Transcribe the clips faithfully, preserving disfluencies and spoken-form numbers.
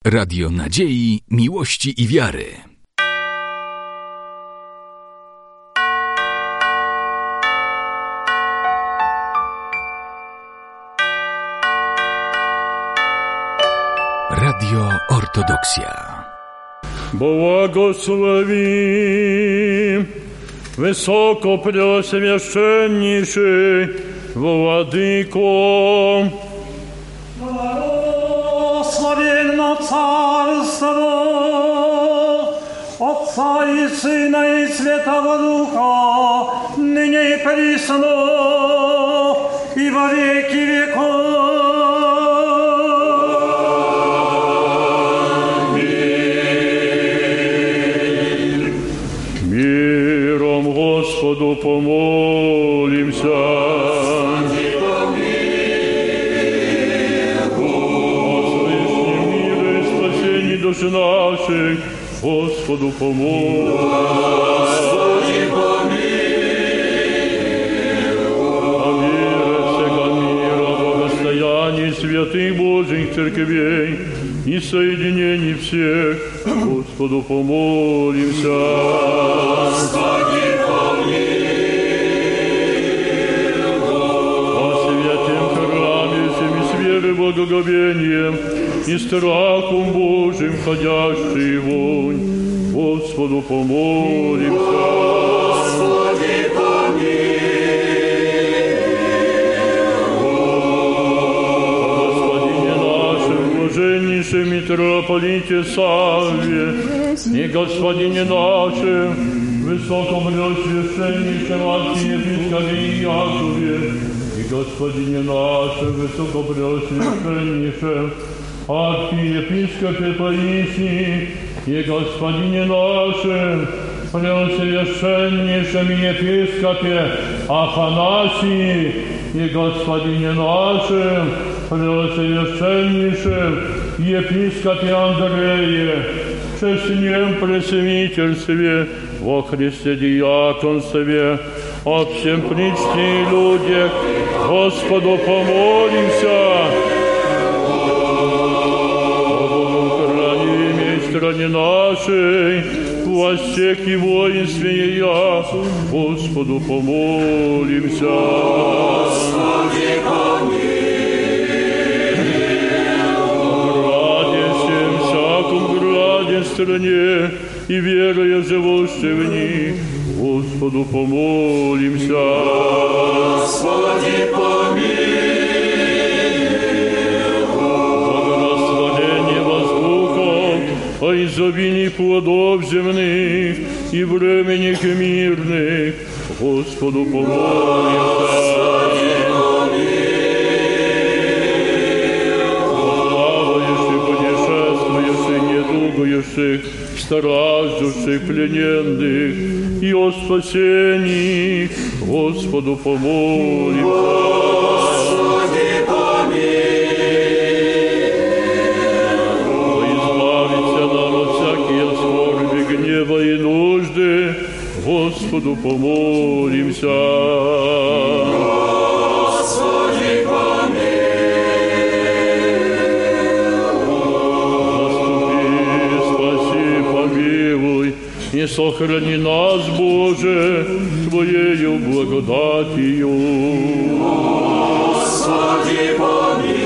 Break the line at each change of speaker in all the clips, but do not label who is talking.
Radio nadziei, miłości i wiary. Radio Ortodoksja.
Błogosławi wysoko preoswięcenniejszy Władyko.
Благословенно Царство Отца и Сына и Святого Духа, ныне и присно, и во веки веков.
Миром Господу помолимся. Души наших, Господу помилуй.
Господи, помилуй.
О мире всего мира, благостоянии святых Божьих церквей и соединении всех, Господу помолимся.
Господи, помилуй.
О святем храме всеми с верой, благоговением и страхом Божьим ходящий вонь, Господу помолимся.
Господи, помилуй.
Господине нашем, блаженнейшем митрополите Савве, и Господине нашем, высокопреосвященнейшем архиепископе Иакове, и Господине нашем, высокопреосвященнейшем архиепископе Паисии и Господине нашем, преосвященнейшем епископе Афанасии и Господине нашем, преосвященнейшем епископе Андрее, честнем пресвитерстве, во Христе диаконстве, о всем причте людях, Господу помолимся. Стране нашей, властях и воинстве ее, Господу помолимся.
Господи, помилуй.
Граде всем, всяком граде стране, и веруя живущей в них, Господу помолимся.
Господи, помилуй.
О изобилии плодов земных и временных и мирных, Господу помолимся.
Господи,
Плавающих, путешествующих, недугающих, страждущих, плененных и о спасении, Господу помолимся.
Господи, помилуй.
Гнева и нужды, Господу помолимся.
Господи,
помилуй. Заступи, спаси, помилуй, и сохрани нас, Боже, Твоею благодатью.
Господи, помилуй.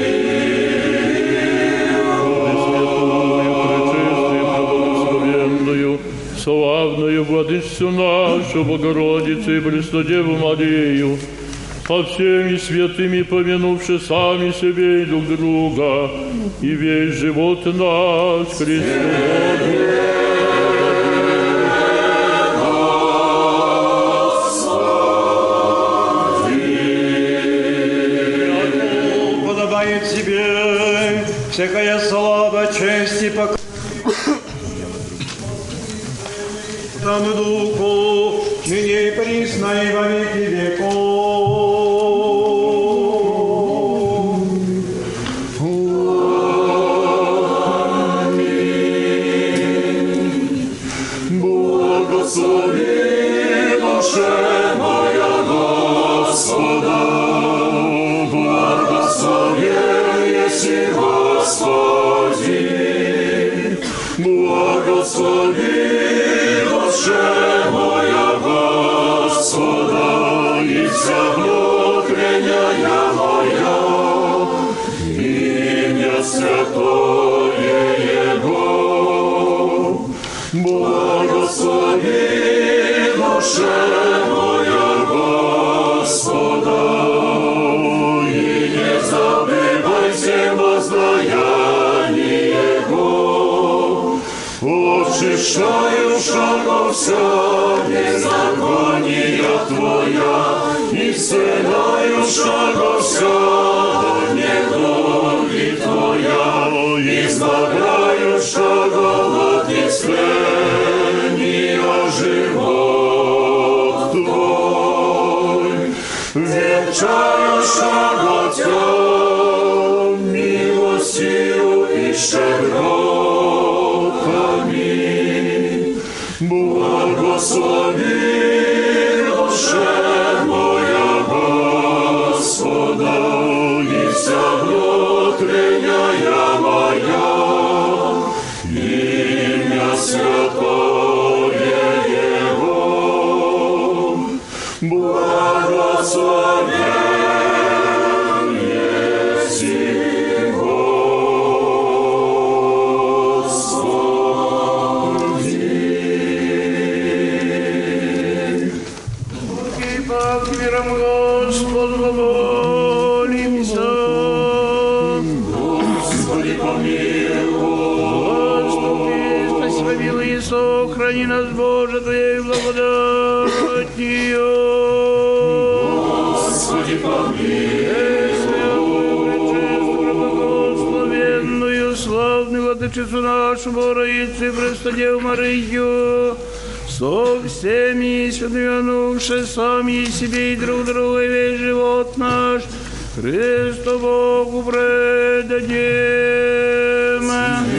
Славную Владычицу нашу, Богородицу и Преснодеву Марию, со всеми святыми помянувши сами себе и друг друга, и весь живот наш Христу
Господи. Подобает тебе всякая слава, честь и покой. Тому Духу, ныне и присно, и во веки веков. Аминь.
Благослови душе моя Господа, благослови, если Господи. Благослови душе моя Господа, и вся внутренняя моя, имя святое Его. Благослови душе моя Господа, и не забывай все воздаяние Его. Очищаю шагов вся беззакония Твоя, исцеляю шагов вся недуги Твоя, избавляю шагов от исцеления живот Твой, венчаю шагов Тя милостью и щедротами. Благослови душе моя Господа, и вся внутренняя моя, имя святое Его. Благословен еси
Миром Господу молимся.
Господи, помилуй.
Господи, спаси, помилуй и сохрани нас, Боже, Твоей благодатью.
Господи, помилуй.
Пречистую, благословенную, славную Владычицу нашу, Богородицу и Престодеву Марию, со всеми святыми сами себе и друг другу, и весь живот наш Христу Богу предадим.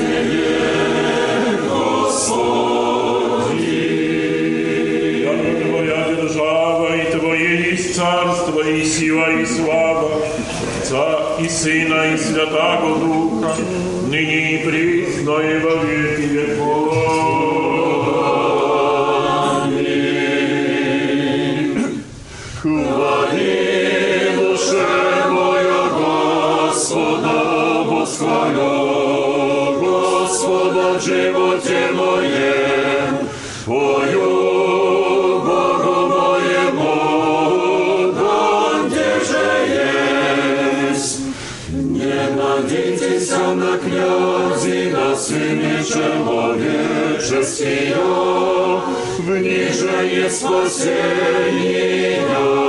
Господи,
яко Твоя держава, и Твое есть царство, и сила, и слава, Отца и Сына, и Святаго Духа, ныне и присно, и во веки веков.
хвали душе моя Господа, восхвалю Господа в животе моем, пою Богу моему, там, где же есть. Не надейтесь на князи, на сыне человеческие, в них же есть спасение.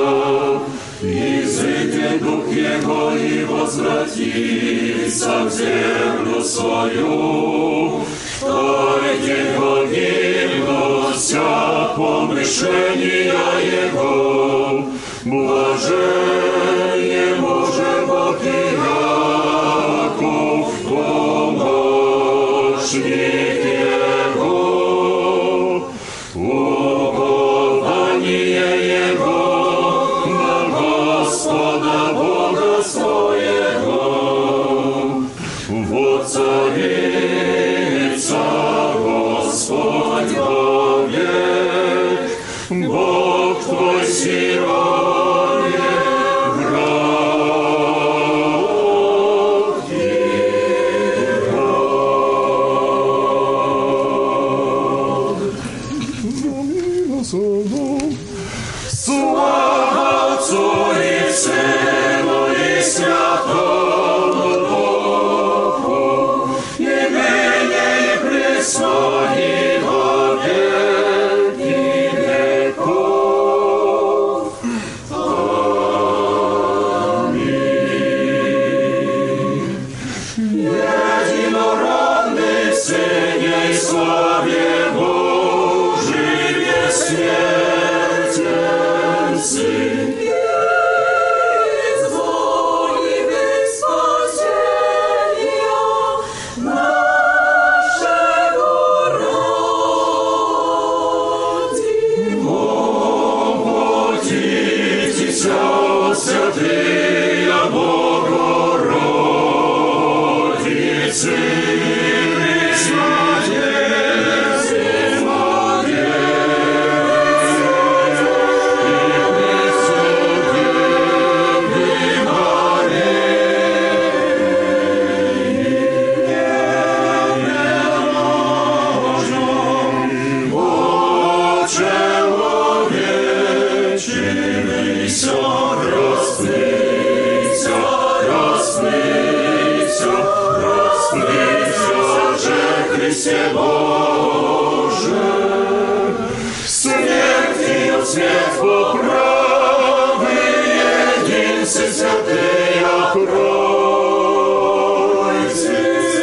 Изыдет дух Его и возвратится в землю свою. В той день погибнут вся помышления Его. Блажен може Бог и Яков, помощник Его. Упование Его на Господа Бога своего. Воцарится Господь вовек, Бог твой Сионе, враг его. Слава Отцу и Сыну и Святому Духу, и ныне и присно и во веки веков. Христе Боже, смертью свет поправы, единцы святые окройте,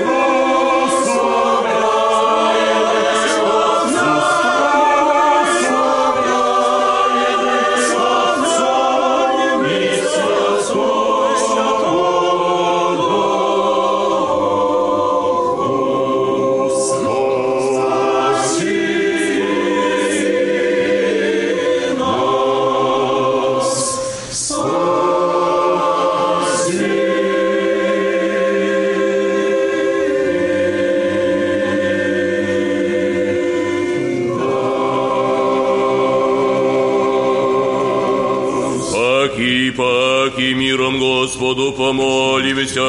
Паки миром Господу помолимся.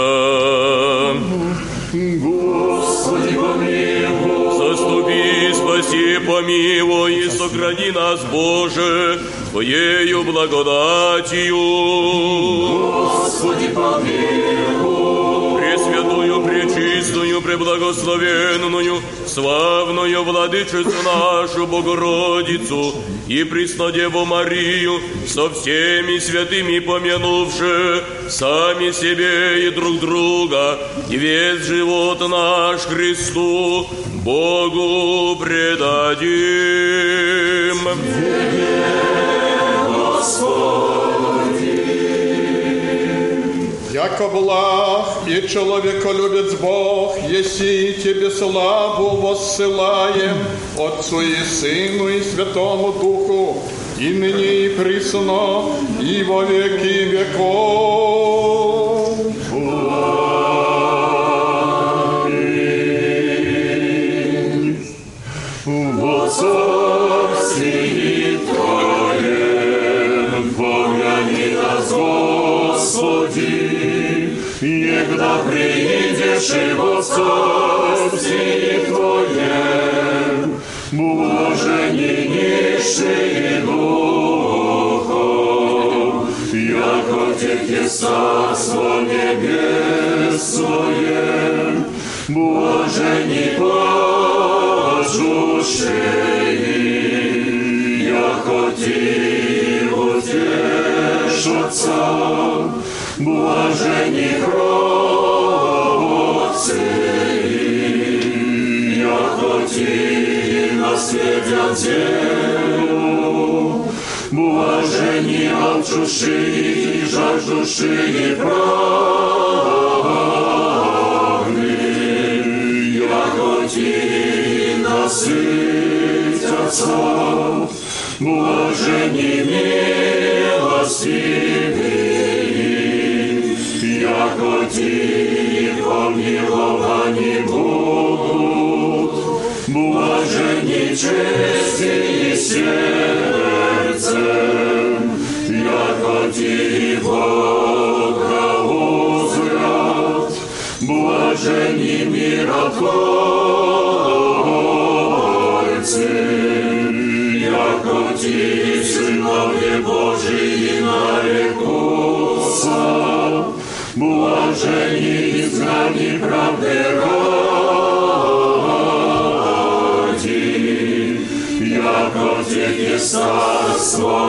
Господи, помилуй.
Заступи, спаси, помилуй и сохрани нас, Боже, Твоею благодатью.
Господи, помилуй.
Пресвятую, пречистую, преблагословенную, славную Владычицу нашу Богородицу и Преснодеву Марию, со всеми святыми помянувши сами себе и друг друга, и весь живот наш Христу, Богу предадим.
Яко благ и человеколюбец Бог, еси Тебе славу воссылаем, Отцу и Сыну и Святому Духу, и ныне и присно, и во веки веков.
Аминь. Во царстве Твоем помяни нас, Господи, Егда приидешь и во царстве Твоем, блажени нищие духом, яко Тебе царство небесное, блажени плачущие, яко Ти утешатся, блажени кровцы, яко Ти наследят землю, блажени алчущие и жаждущие правды, яко Ти насытятся, блажени милостивые, яко Ти помиловани будут, блажени чести и сердцем, яко Ти благоузрят, блажени миротворцы, яко Ти сыновья Божии нарекутся, блажени изгнани правды ради, яко Тебе царство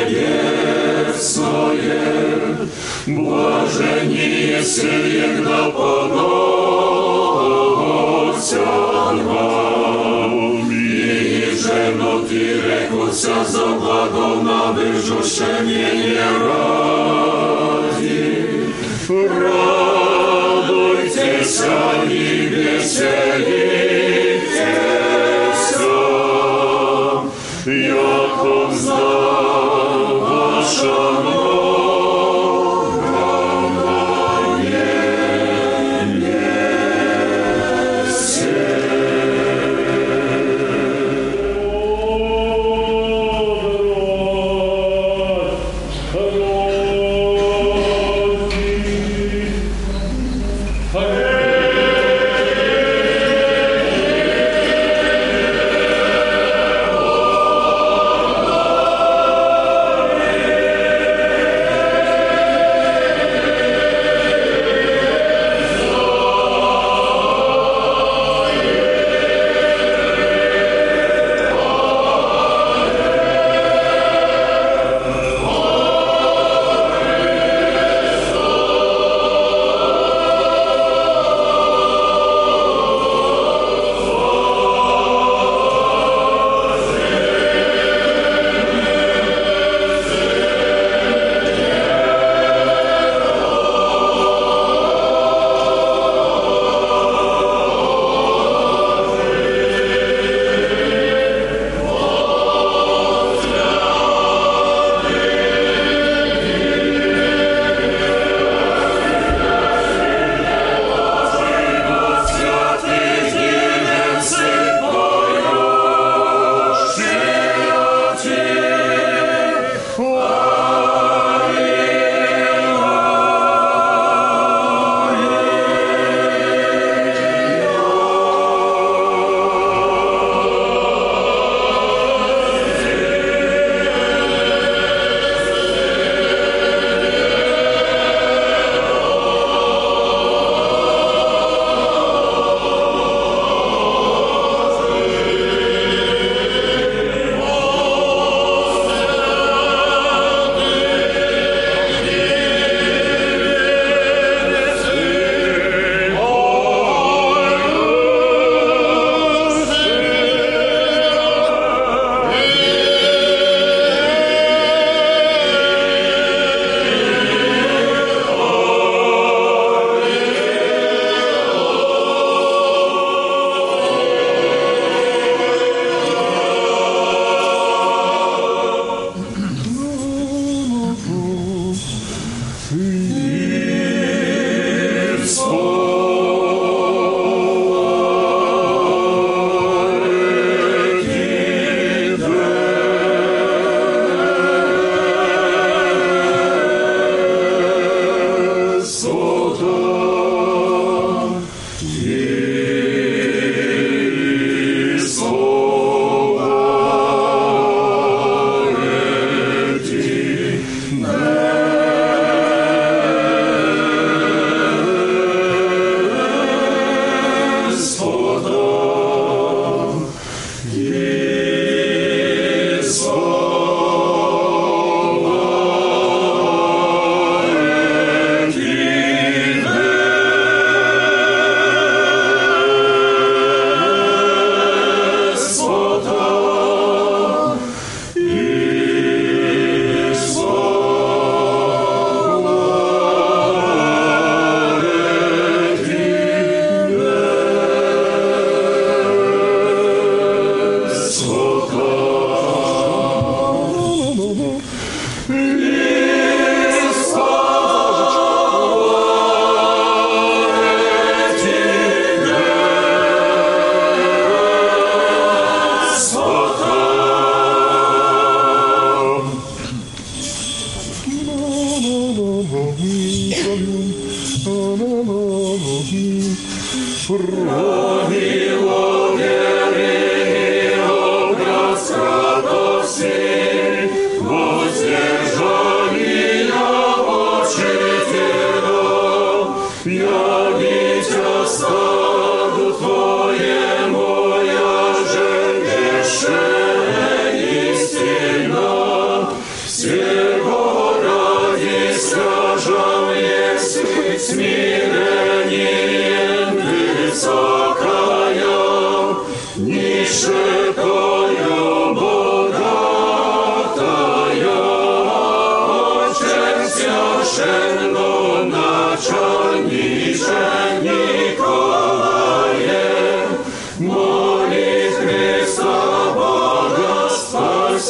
небесное, блажени, если егда поносят вам, и жену Ти рекутся за благом набежущее ради. Радуйтесь и веселитесь, яко знал ваша
Amen.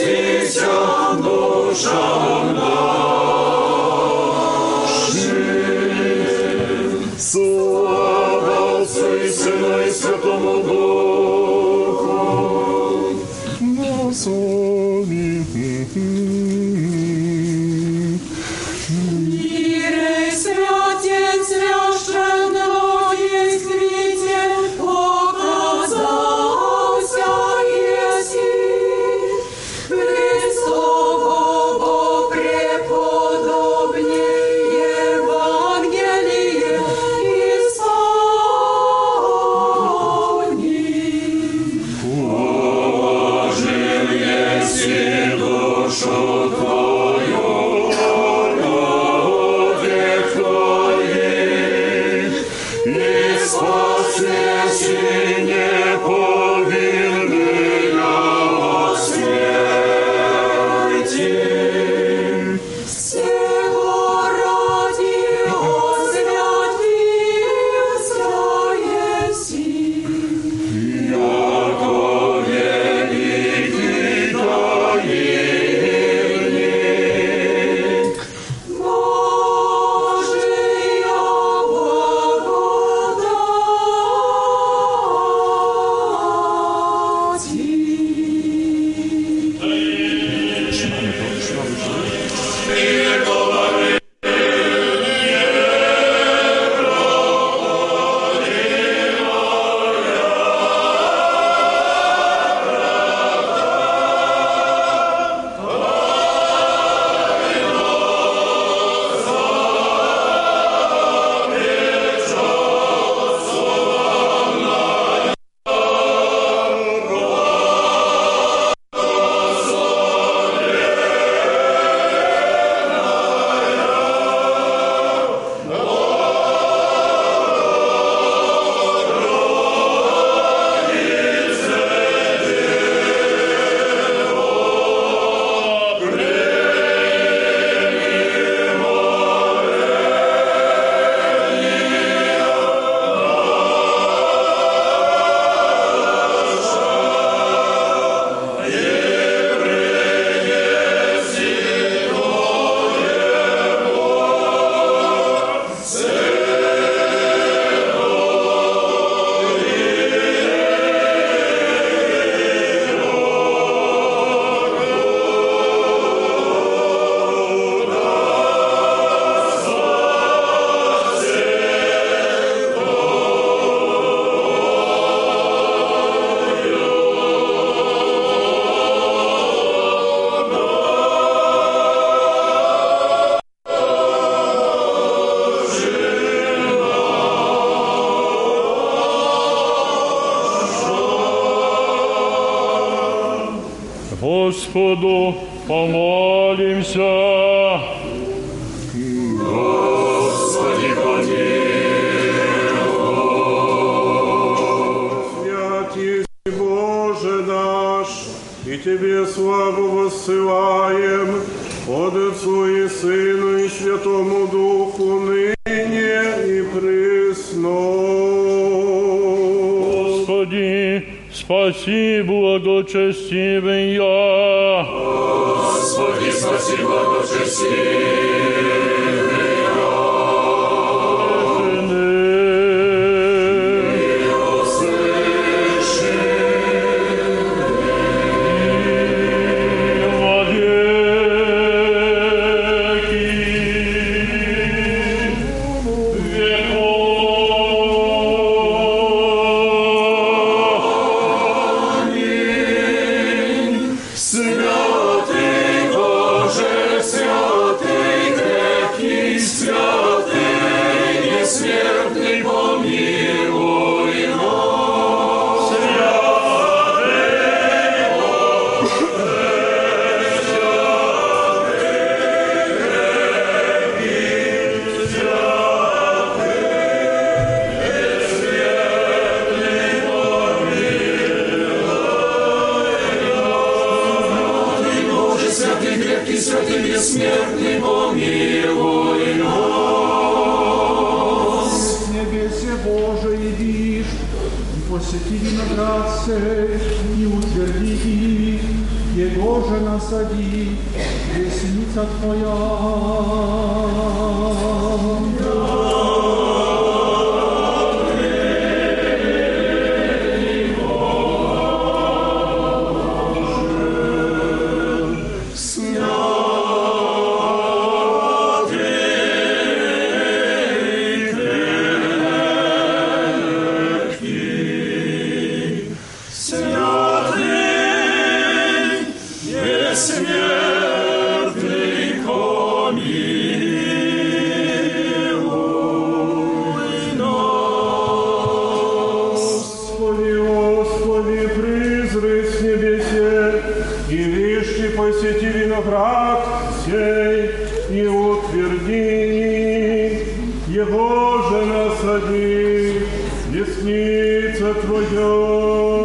спасися душам нашим. Слава Отцу и Сыну и Святому Духу. Господи.
Мире святец священного действитель показался еси, Христово преподобнее Евангелие исполни.
Положил еси душу Твою, спасение повинная от смерти.
Всего ради освятился еси,
Яко великий таинник,
Божия
Господу помолимся.
Господи, помилуй.
Свят есть Боже наш, и Тебе славу воссылаем, от Отцу и Сыну и Святому Духу, ныне и присно.
Господи, спаси благочестивый я.
Господи, спаси благочестивый бессмертный, помилуй нас.
С небесе Божий идишь, и посети
посети виноград сей и утверди их, его же насади, десница Твоя.
Посети виноград сей и утверди, его же насади, десница Твоя.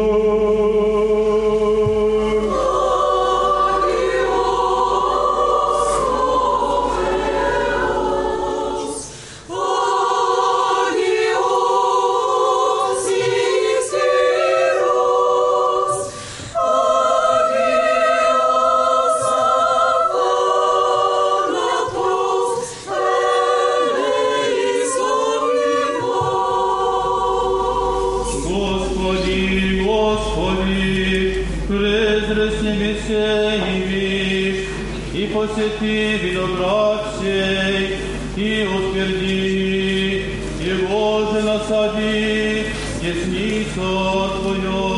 Посети виноград сей и утверди, его же насади, десницу Твою.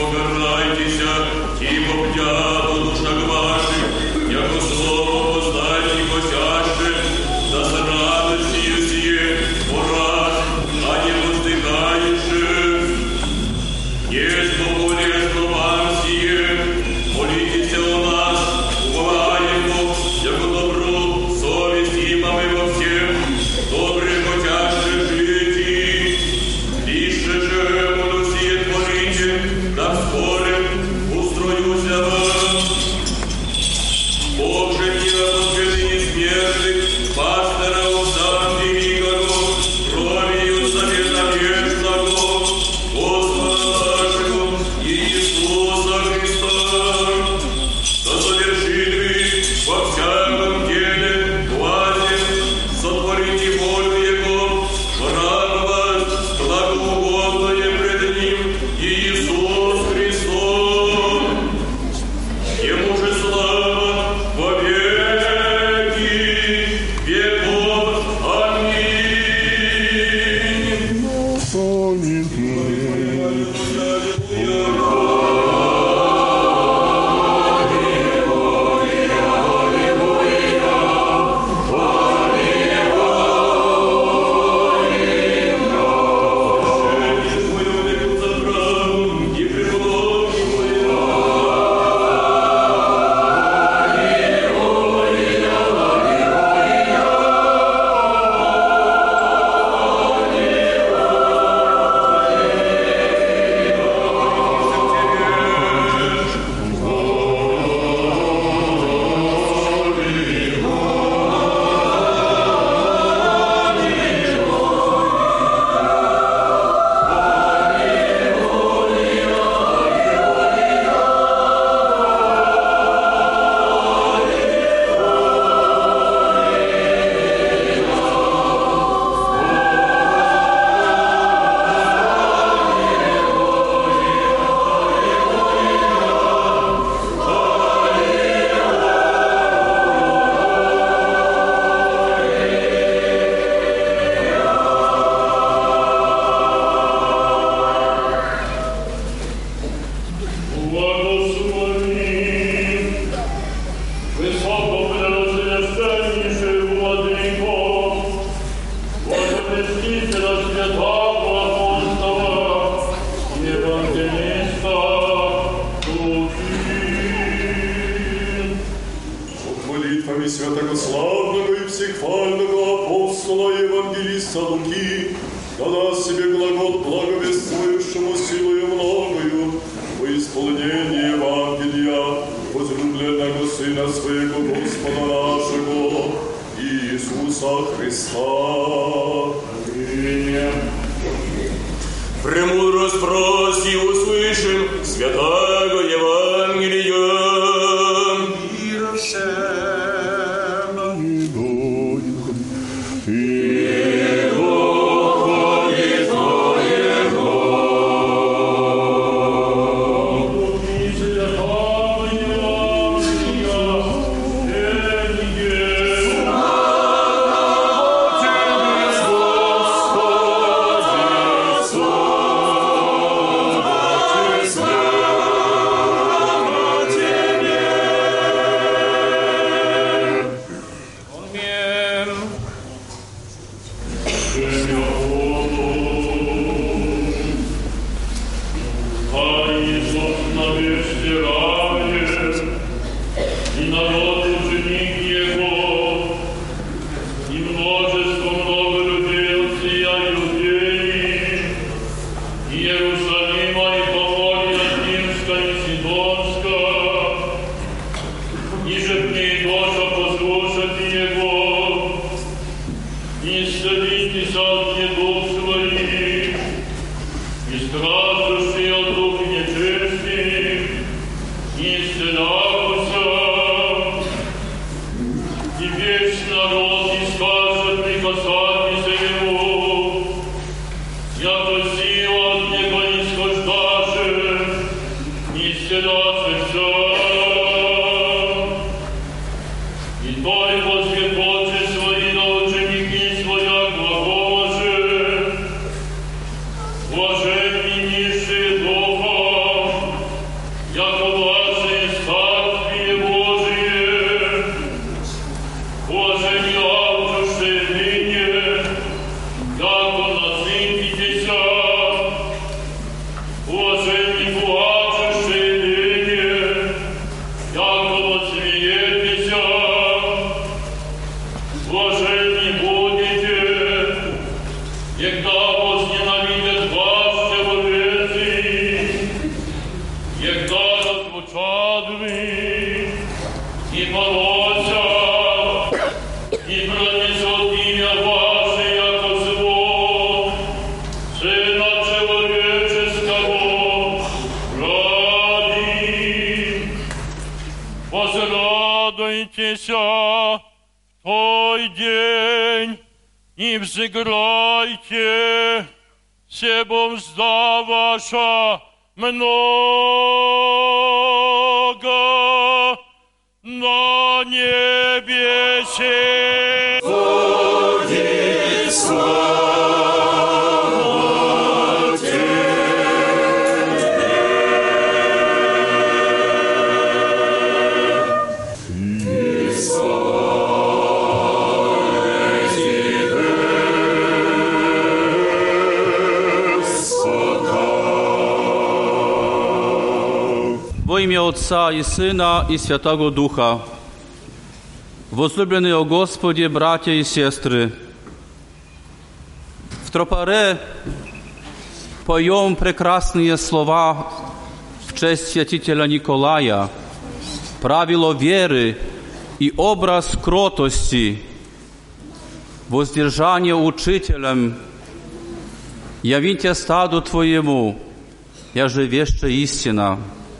Покарайтеся, и попьят у душах ваших, яко слово познайте.
святогославного и всехвального апостола Евангелиста Луки, когда себе глагол благовествующему силою многою во исполнение Евангелия возлюбленного Сына Своего Господа нашего Иисуса Христа. Аминь.
Премудрость проси услышим святаго Евангелия.
Мира всем.
Той день и взыграйте, себо мзда ваша много на небесе.
Господи, слава Тебе. И
Во имя Отца и Сына и Святого Духа. Возлюбленные о Господе, братья и сестры, в тропаре поем прекрасные слова в честь святителя Николая, правило веры и образ кротости, воздержание учителям, явите стаду Твоему, я же веща истина.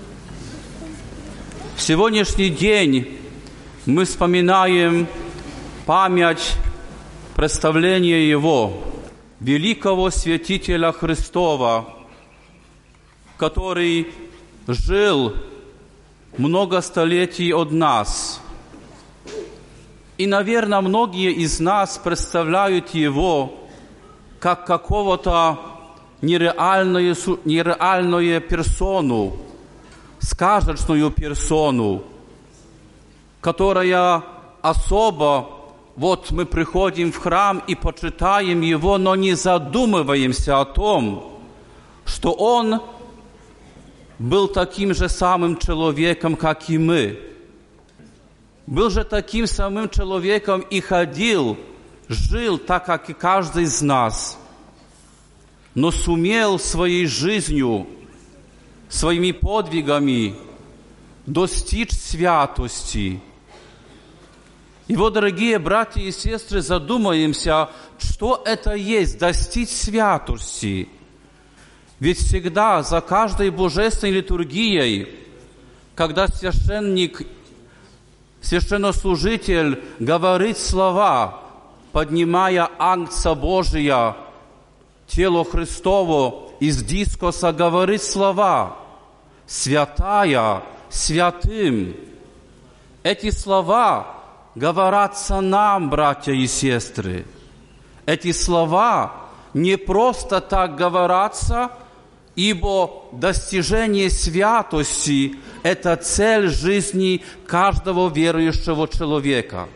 В сегодняшний день мы вспоминаем память представления Его, великого святителя Христова, который жил много столетий от нас. И, наверное, многие из нас представляют Его как какого-то нереальную, нереальную персону, сказочную персону, которая особо, вот мы приходим в храм и почитаем Его, но не задумываемся о том, что Он был таким же самым человеком, как и мы. был же таким самым человеком и ходил, жил так, как и каждый из нас, но сумел своей жизнью, своими подвигами достичь святости. И вот, дорогие братья и сестры, задумаемся, что это есть достичь святости. Ведь всегда за каждой божественной литургией, когда священник, священнослужитель говорит слова, поднимая Агнца Божия, тело Христово из дискоса, говорит слова «Святая, святым». Эти слова говорятся нам, братья и сестры. Эти слова не просто так говорятся, ибо достижение святости – это цель жизни каждого верующего человека.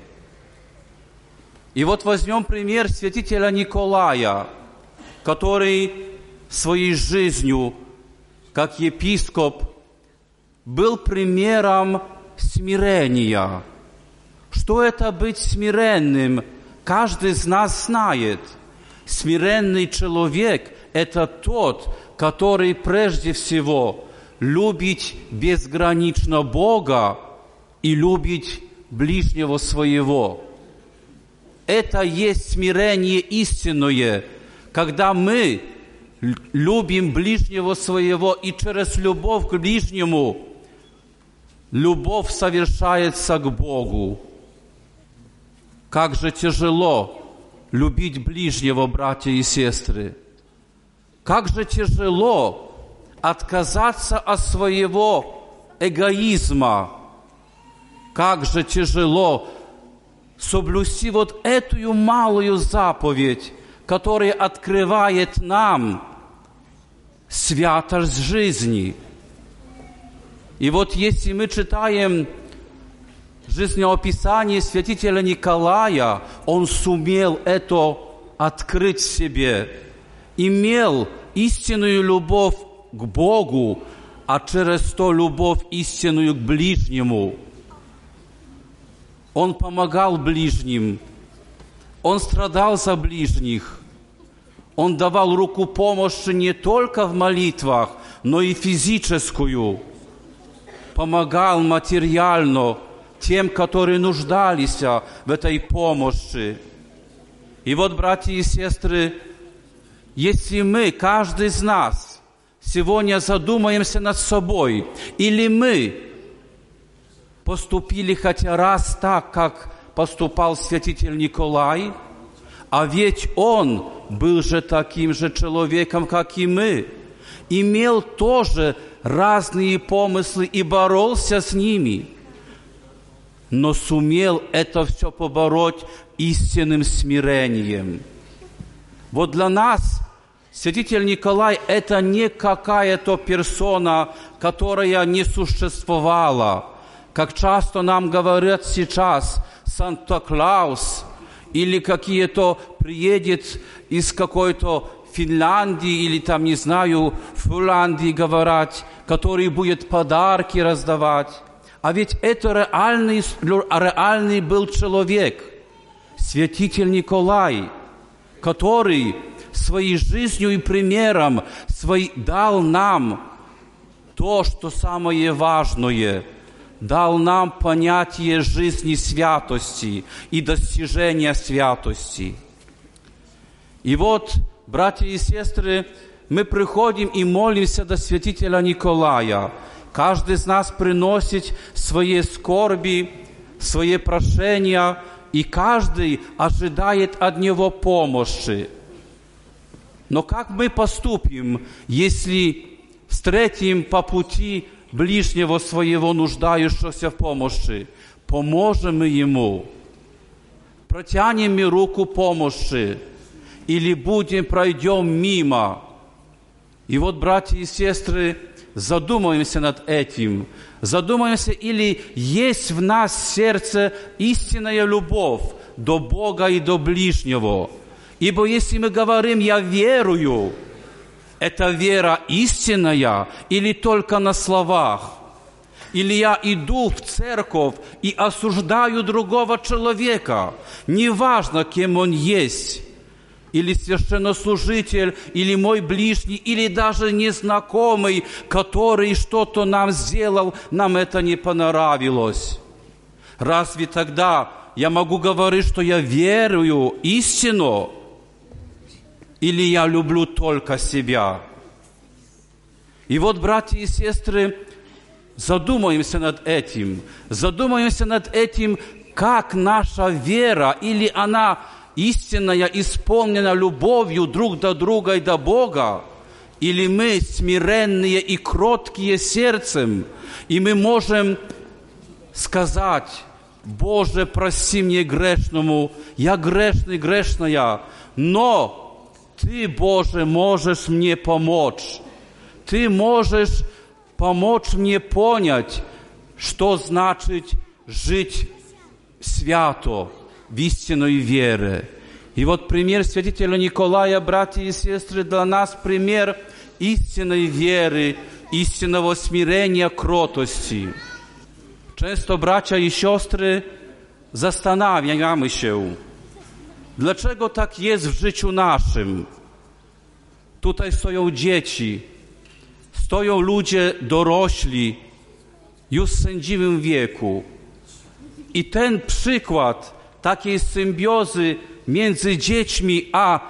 И вот возьмем пример святителя Николая, который своей жизнью, как епископ, был примером смирения. Что это быть смиренным? Каждый из нас знает. Смиренный человек – это тот, который прежде всего любит безгранично Бога и любит ближнего своего. Это есть смирение истинное, когда мы любим ближнего своего, и через любовь к ближнему любовь совершается к Богу. Как же тяжело любить ближнего, братья и сестры. Как же тяжело отказаться от своего эгоизма. Как же тяжело соблюсти вот эту малую заповедь, которая открывает нам святость жизни. И вот если мы читаем жизнеописание святителя Николая, он сумел это открыть в себе, имел истинную любовь к Богу, а через то любовь истинную к ближнему. Он помогал ближним, он страдал за ближних, он давал руку помощи не только в молитвах, но и физическую, помогал материально тем, которые нуждались в этой помощи. И вот, братья и сестры, если мы, каждый из нас, сегодня задумаемся над собой, или мы поступили хотя раз так, как поступал святитель Николай, а ведь он был же таким же человеком, как и мы, имел тоже разные помыслы и боролся с ними, но сумел это все побороть истинным смирением. Вот для нас святитель Николай – это не какая-то персона, которая не существовала. Как часто нам говорят сейчас Санта-Клаус или какие-то приедет из какой-то Финляндии или там, не знаю, Финляндии говорят, который будет подарки раздавать. А ведь это реальный, реальный был человек, святитель Николай, который своей жизнью и примером свой, дал нам то, что самое важное, дал нам понятие жизни святости и достижения святости. И вот, братья и сестры, мы приходим и молимся до святителя Николая. Каждый из нас приносит свои скорби, свои прошения, и каждый ожидает от него помощи. Но как мы поступим, если встретим по пути ближнего своего, нуждающегося в помощи? Поможем мы ему? Протянем мы руку помощи? Или будем, пройдем мимо? И вот, братья и сестры, задумаемся над этим. Задумаемся, или есть в нас в сердце истинная любовь до Бога и до ближнего. Ибо если мы говорим «я верую», это вера истинная или только на словах? или я иду в церковь и осуждаю другого человека, неважно, кем он есть, или священнослужитель, или мой ближний, или даже незнакомый, который что-то нам сделал, нам это не понравилось. Разве тогда я могу говорить, что я верую истину, или я люблю только себя? И вот, братья и сестры, задумаемся над этим. Задумаемся над этим, как наша вера, или она истинная, исполнена любовью друг до друга и до Бога, или мы смиренные и кроткие сердцем, и мы можем сказать: Боже, прости мне грешному, я грешный, грешная, но Ты, Боже, можешь мне помочь. Ты можешь помочь мне понять, что значит жить свято, в истинной вере. И вот пример святителя Николая, братья и сестры, для нас пример истинной веры, истинного смирения, кротости. Często, bracia i siostry, zastanawiamy się, dlaczego tak jest w życiu naszym. Tutaj stoją dzieci, stoją ludzie dorośli, już w sędziwym wieku. I ten przykład takiej symbiozy między dziećmi a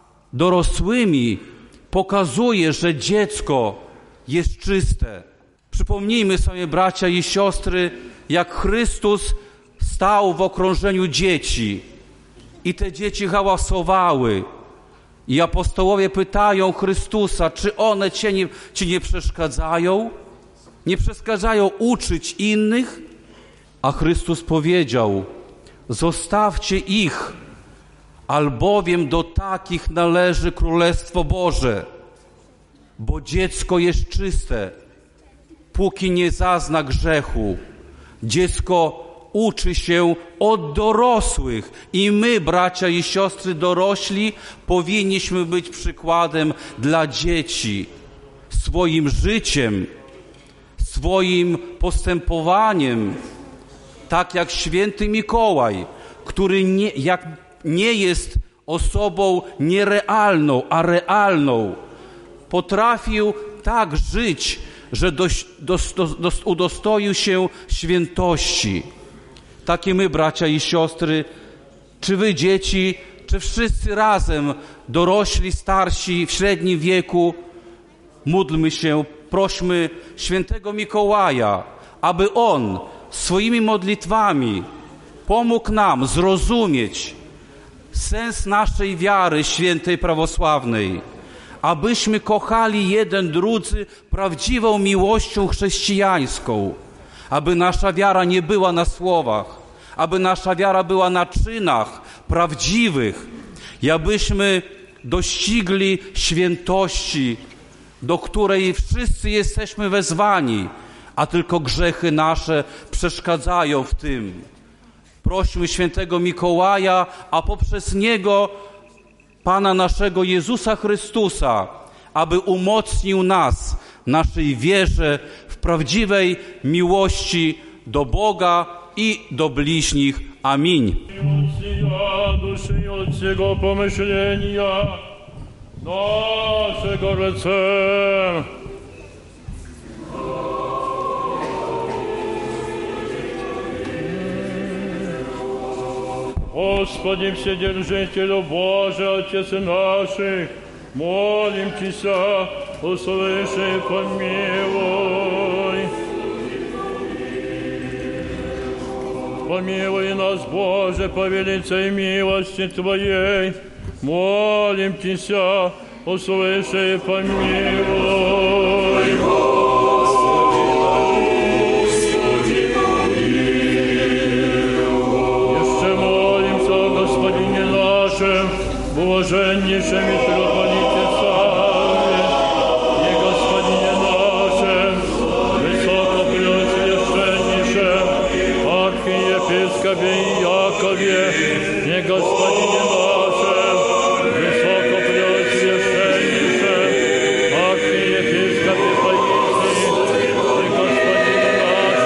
dorosłymi pokazuje, że dziecko jest czyste. Przypomnijmy sobie, bracia i siostry, jak Chrystus stał w okrążeniu dzieci i te dzieci hałasowały. I apostołowie pytają Chrystusa, czy one ci nie, ci nie przeszkadzają? Nie przeszkadzają uczyć innych? A Chrystus powiedział: zostawcie ich, albowiem do takich należy Królestwo Boże. Bo dziecko jest czyste, póki nie zazna grzechu. Dziecko uczy się od dorosłych i my, bracia i siostry dorośli, powinniśmy być przykładem dla dzieci swoim życiem, swoim postępowaniem, tak jak święty Mikołaj, który nie, jak nie jest osobą nierealną, a realną, potrafił tak żyć, że dość, dos, dos, dos, udostoił się świętości. Takie my, bracia i siostry, czy wy dzieci, czy wszyscy razem, dorośli, starsi, w średnim wieku, módlmy się, prośmy świętego Mikołaja, aby on swoimi modlitwami pomógł nam zrozumieć sens naszej wiary świętej prawosławnej, abyśmy kochali jeden drudzy prawdziwą miłością chrześcijańską, aby nasza wiara nie była na słowach, aby nasza wiara była na czynach prawdziwych i abyśmy dościgli świętości, do której wszyscy jesteśmy wezwani, a tylko grzechy nasze przeszkadzają w tym. Prośmy świętego Mikołaja, a poprzez niego Pana naszego Jezusa Chrystusa, aby umocnił nas w naszej wierze, w prawdziwej miłości do Boga i do bliźnich. Amin.
Duszy od Jego pomyślenia naszego recem. Господи, Вседержителю Божий, Отец наших, молим Тебя, услыши и помилуй. Помилуй нас, Боже, по великой милости Твоей, молим Тебя, услыши и помилуй. Блаженнейшем митрополите Савве, и Господине нашем, высокопреосвященнейшем архиепископе Якове, и Господине нашем, высокопреосвященнейшем архиепископе Паисии, и Господине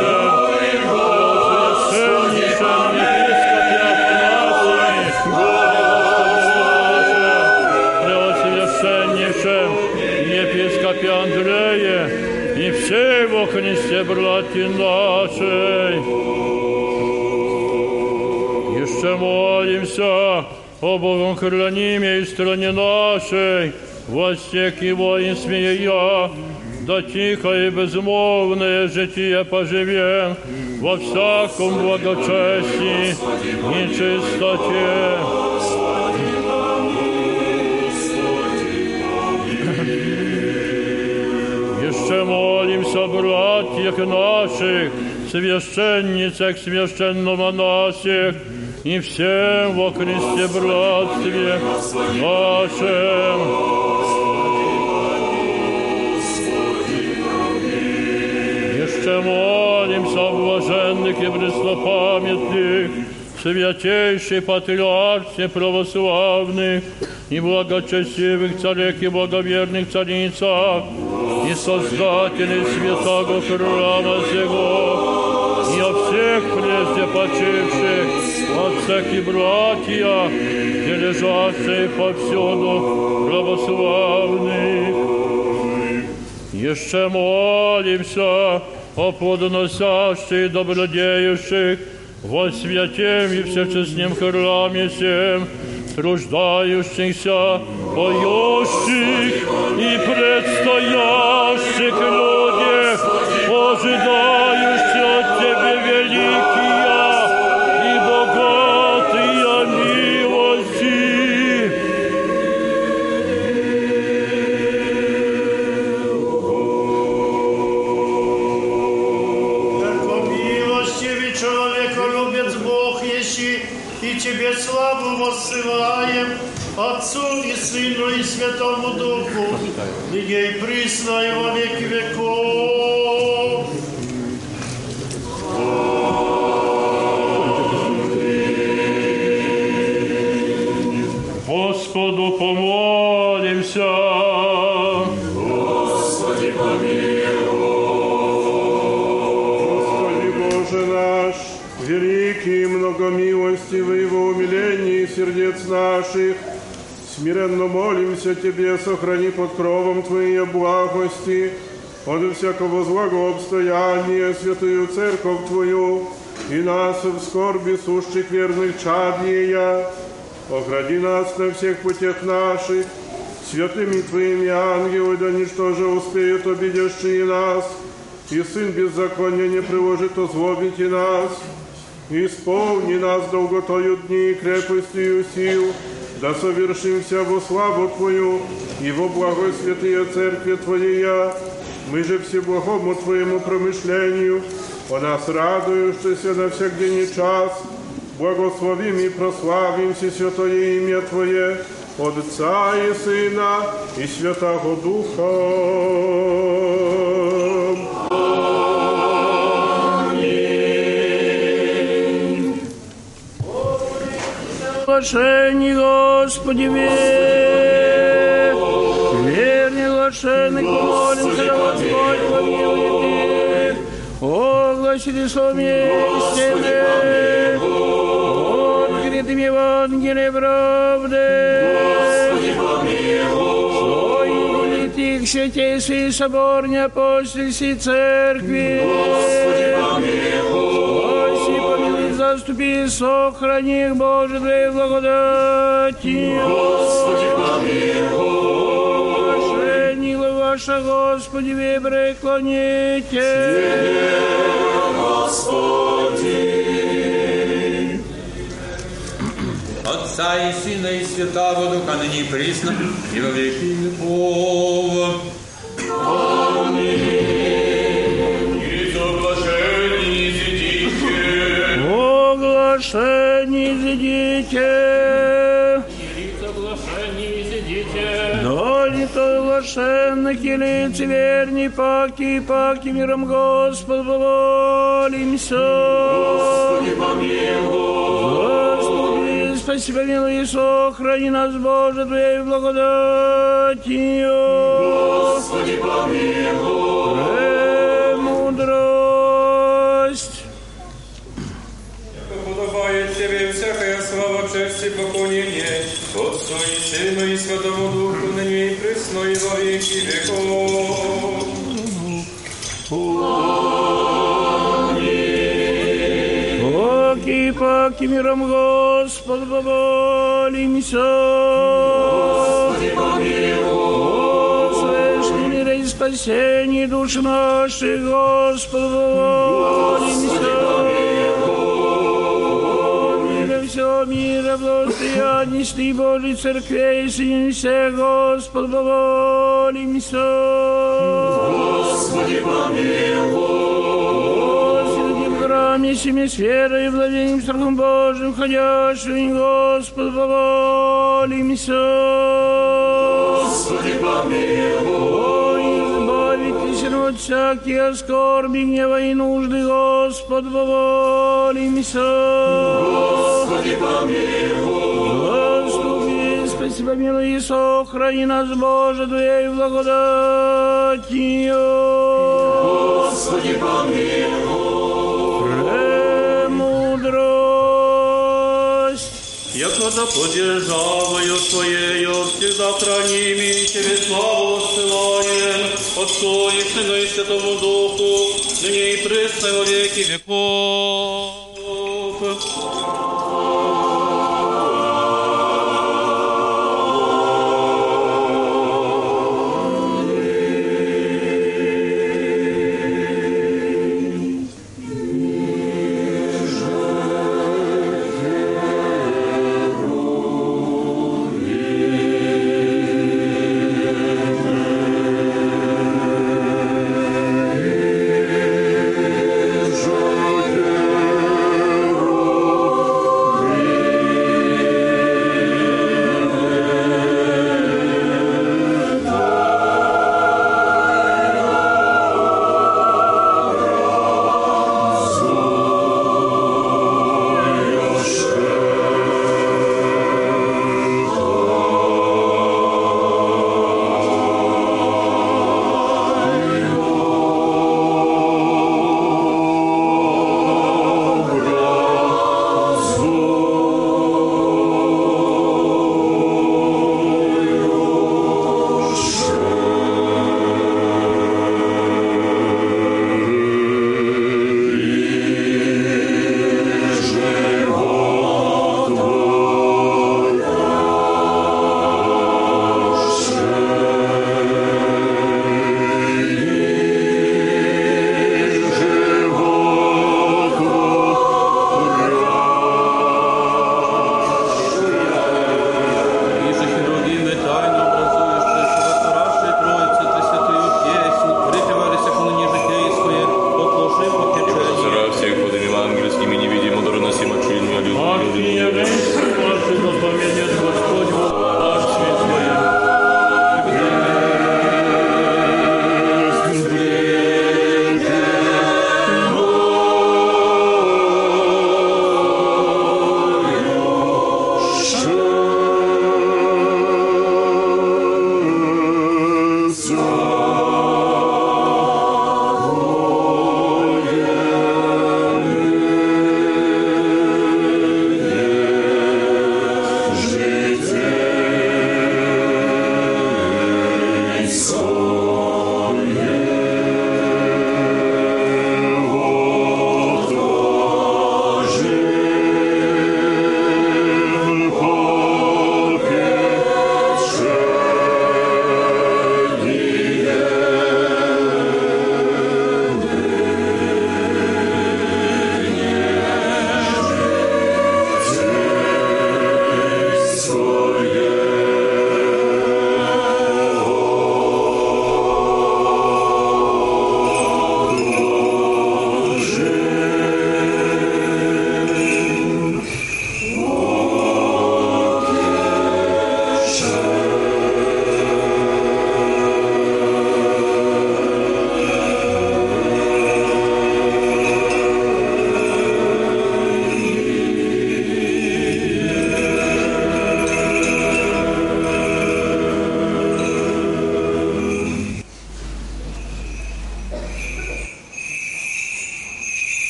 Христе, братья нашей. Еще молимся о Богом храниме и стране нашей, во всех его и смея, да тихо и безмолвное житие поживем во всяком благочестии и чистоте. Еще молимся о братьях наших, священницах, священномонасях и всем во Христе братстве нашем. Еще молимся о блаженных и преснопамятных, святейшей патриархе православных и благочестивых царях и благоверных царицах, и создателей святого храма сего, и о всех прежде почивших отцах и братьях, и лежащих повсюду православных. Еще молимся о плодоносящих и добродеющих во святем и всечестном храме сем, труждающихся, поющих и предстоящих людях, ожидающих от Тебе великие и богатые милости.
Яко милостивый человеколюбец Бог еси, и Тебе славу воссылаем, Отцу и Сыну и Святому Духу, ныне и присно и во веки веков.
Господу помолимся.
Господи, помилуй.
Господи Боже наш, великий и многомилостивый во умилении сердец наших, смиренно молимся Тебе, сохрани под кровом Твоей благости, от всякого злого обстояния святую церковь Твою и нас в скорби сущих верных чадния. Охрани нас на всех путях наших, святыми Твоими ангелы, да ничто же успеют обидящие нас, и Сын беззакония не приложит озлобить и нас. Исполни нас долготою дни и крепостью сил, да совершимся во славу Твою и во благо святые Церкви Твоей. Мы же всеблагому Твоему промышлению, о нас радующийся на всех день и час, благословим и прославим все святое имя Твое, от Отца и Сына и Святого Духа.
Блаженни, Господи, верь, верни, блаженных, помолимся, да Господь помилует их. О, гласите слове истины, открытым Евангелие правды. Стоит их святейший собор неапостольской церкви. Спаси, помилуй, заступи, сохрани их, Боже, Твоей благодатью.
Господи, помилуй.
Блаженни ваша, Господи, вы преклоните.
Господи.
Отца и Сына и Святого Духа, ныне и присно, и во веки веков.
Аминь.
И соглашение изидите.
Оглашение изидите.
И соглашение изидите.
Да не то оглашенных и лицеверней паки и паки миром Господу помолимся.
Господи, помилуй.
Спаси, помилуй и сохрани нас, Боже, Твоей благодатью.
Господи, помилуй.
Премудрость.
Яко подобает Тебе всякая слава, честь и поклонение, Отцу и Сыну и Святому Духу, ныне и присно и во веки веков.
Поки, поки миром Господь помолимся.
Господи, помилуй.
Священный мир и спасение душ наших, Господь помолимся. Мира всего мира, благостоянности Божьей Церкви, Сыне всех, Господь помолимся.
Господи, помилуй.
Семи с верой и владением страхом Божьим, ходящим, Господь, помолимся.
Господи, помилуй.
Избавитесь от всяких скорби, гнева и нужды, Господь, помолимся.
Господи, помилуй.
Заступи, спаси, помилуй и сохрани нас, Боже, Твоей благодатью.
Господи, помилуй.
Яко да поддержавою Твоею всегда храними, Тебе славу воссылаем, Отцу и Сыну и Святому Духу, ныне и присно во веки веков.
Жоден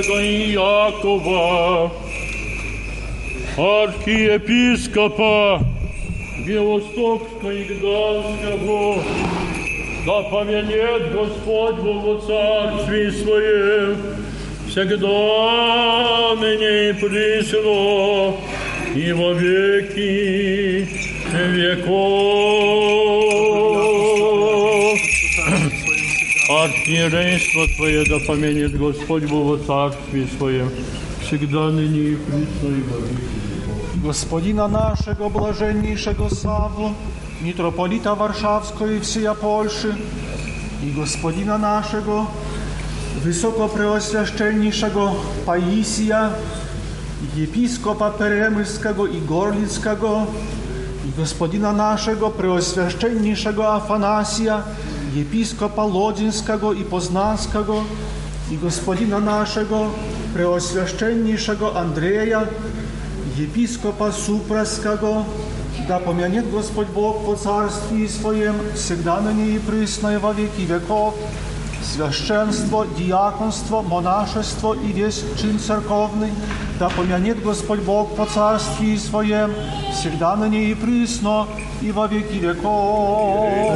Святого Иакова, архиепископа Белостокского и Гданского, да помянет Господь во Царстве Своем, всегда ныне и присно, и во веки веков. Архиерейство Твое да помянет Господь во Царстве Своем, всегда ныне и присно, и во веки.
Господина нашего блаженнейшего Савву, митрополита Warszawskiego i всея Польши, и Господина нашего Wysokopреосвященнейшего Paisija, епископа Перемысльского и Горлицкого, и Господина нашего Преосвященнейшего Афанасия, епископа Лодзинского и Познанского, и Господина нашего Преосвященнейшего Андрея, епископа Супраского, да помянет Господь Бог по Царстве Своем, всегда ныне и присно и во веки веков, священство, диаконство, монашество и весь чин церковный, да помянет Господь Бог по Царстве Своем, всегда ныне и присно и во веки веков.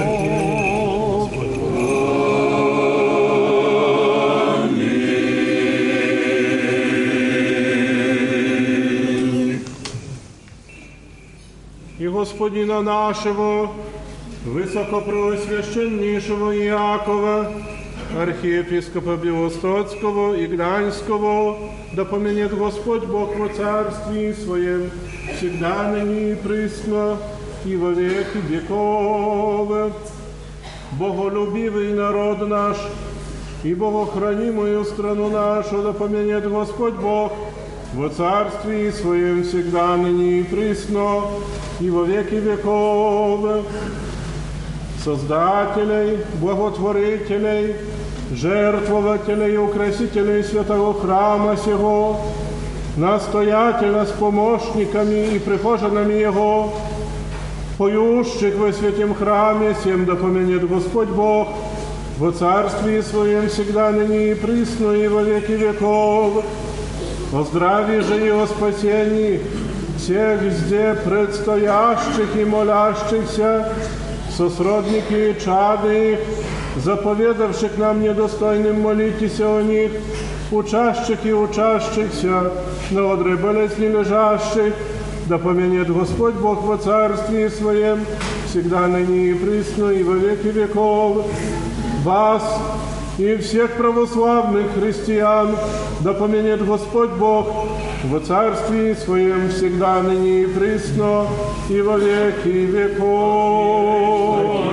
И Господина нашего, Высокопреосвященнейшего Иакова, архиепископа Белостоцкого и Гданьского, да помянет Господь Бог во Царстве Своем, всегда ныне и присно, и во веки веков. Боголюбивый народ наш, и богохранимую страну нашу, да помянет Господь Бог во Царстве Своем, всегда ныне и присно, и во веки веков. Создателей, благотворителей, жертвователей и украсителей святого храма сего, настоятеля с помощниками и прихожанами его, поющих во святем храме сем, да помянет Господь Бог во Царстве Своем, всегда ныне и присно, и во веки веков. О здравии же и о спасении всех везде предстоящих и молящихся, сосродники и чады их, заповедавших нам недостойным молитесь о них, учащих и учащихся, на одре болезни лежащих, да помянет Господь Бог во Царстве Своем, всегда ныне и присно, и во веки веков. Вас и всех православных христиан, да помянет Господь Бог во Царстве Своем, всегда ныне и присно, и во веки веков.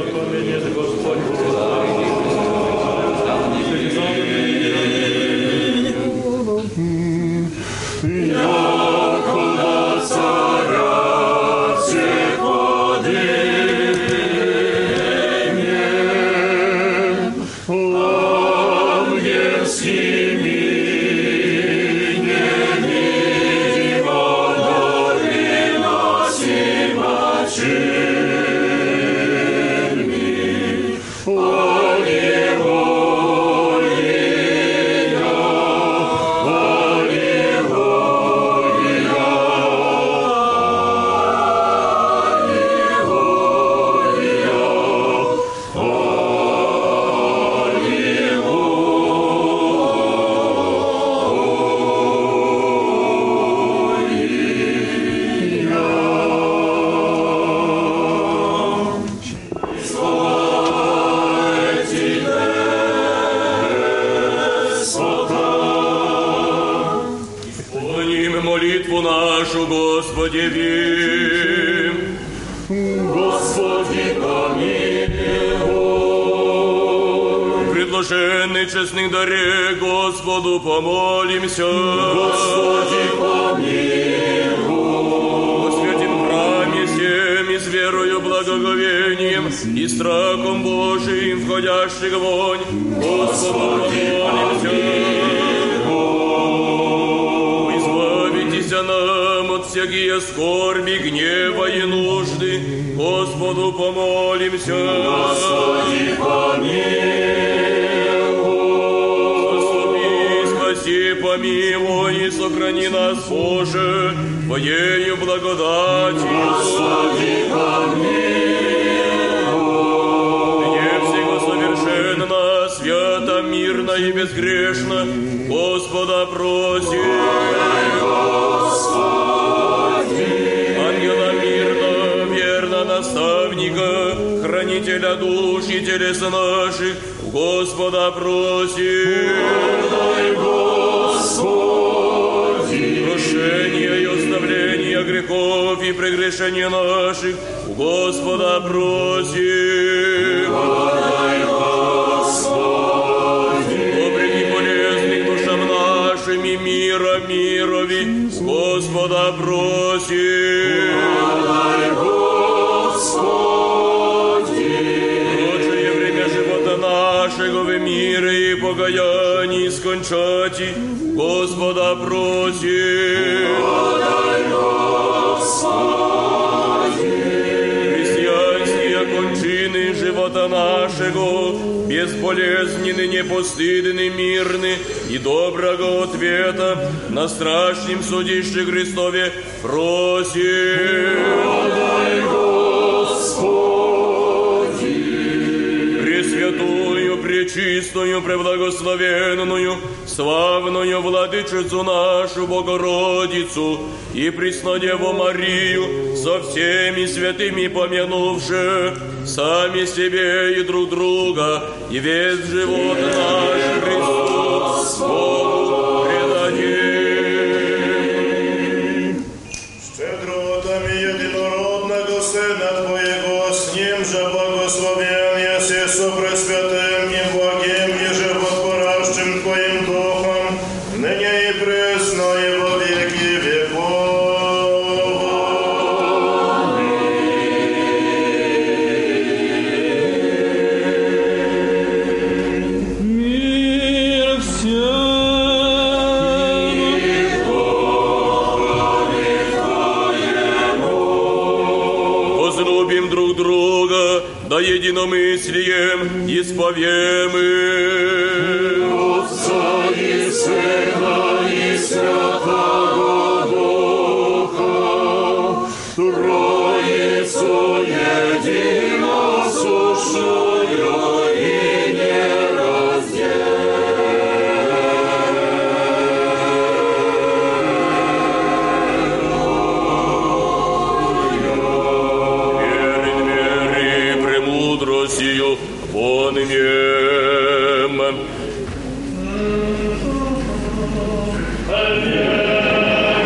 Предложенный честных даре Господу помолимся. Господи, помилуй. Во святем храме всем и с верою, благоговением и страхом Божиим входящих вонь, Господу помолимся. Избавитесь нам от всякие скорби, гнева и нужды, Господу помолимся. Господи, помилуй. Заступи, спаси, помилуй и сохрани нас, Боже, Твоею благодатью. Господи, помилуй. Не всего совершенно, свято, мирно и безгрешно, Господа просим. Ангела мирно, верно наставника, хранителя душ и телес наших, Господа просим. Подай, Господи. Прощения и оставления грехов и прегрешений наших, Господа просим. Подай, Господи. Добрых и полезных душам нашим и мира мирови, Господа просим. Подай, Господи. Прочее время живота нашего в мире и покаянии скончати, Господа просим. Подай, Господи. Христианские кончины живота нашего, безболезненны, непостыдны, мирны и доброго ответа на страшном судище Христове просим. Подай, Господи. Пресвятую, пречистую, преблагословенную, славную Владычицу нашу Богородицу и Преснодеву Марию со всеми святыми помянувши, сами себе и друг друга, и весь живот наш Христу Богу предадим.
Щедротами единородного Сына Твоего, с Ним же благословен еси со Пресвятым и благим и животворящим Твоим Духом, ныне и пресно и во веки веков.
Мир всем.
Возлюбим друг друга, да единомыслием исповем
Отца и Сына и Святого Духа, Троицу единосущную и нераздельную.
Верен веры премудростью понемем.
Аллилуйя.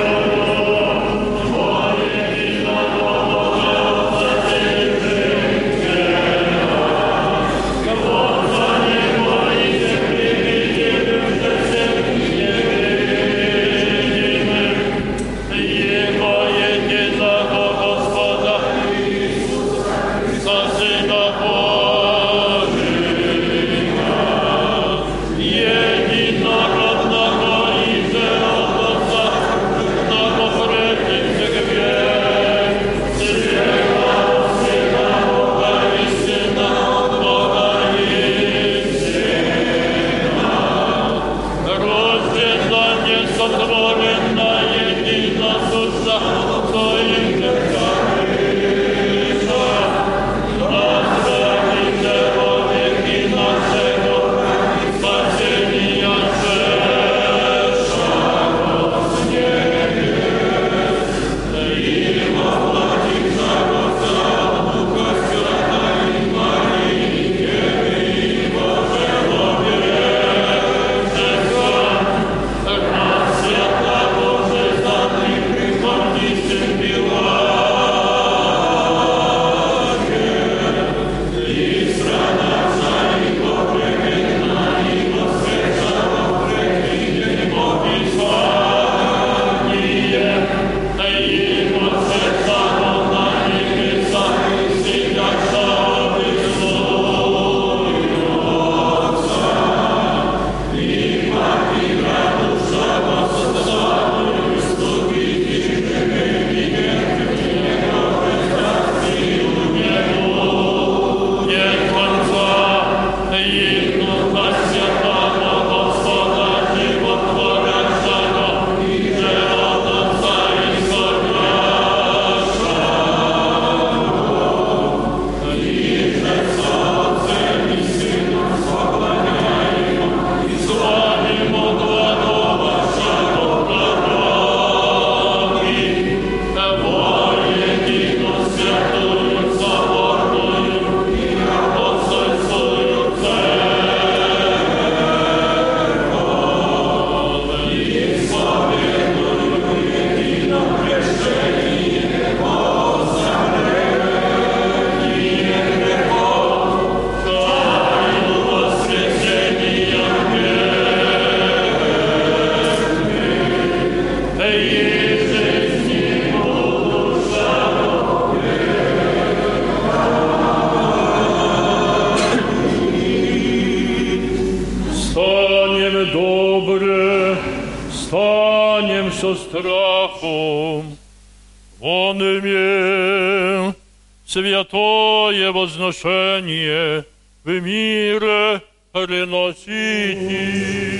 со страхом. Он имел святое возношение в мире приносите.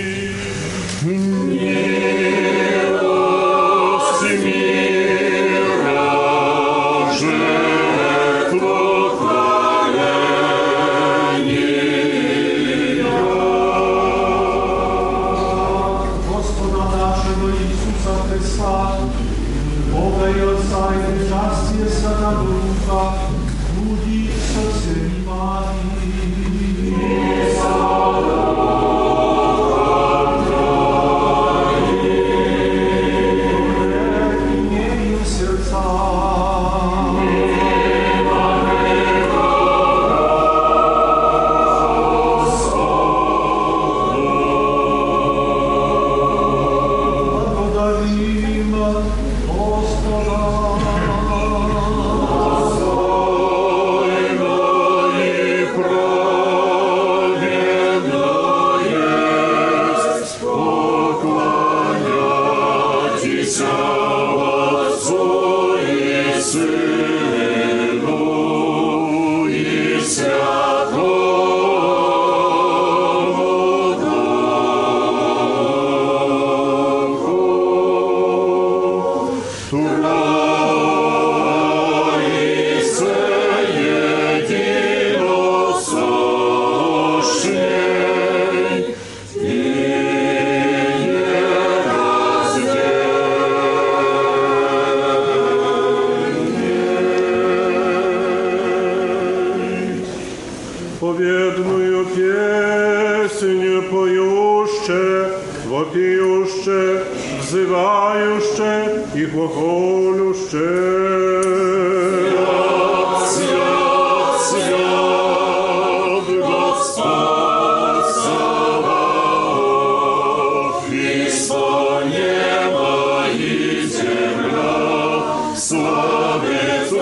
Милость мира жертву хваления.
Господа нашего Иисуса Христа, Бога и Отца и причастие Святого Духа, будет со всеми вами.
Победную песню поюще, вопиюще, взывающе и глаголюще.
Свят, свят, Господь Саваоф, Христо небо и земля, славит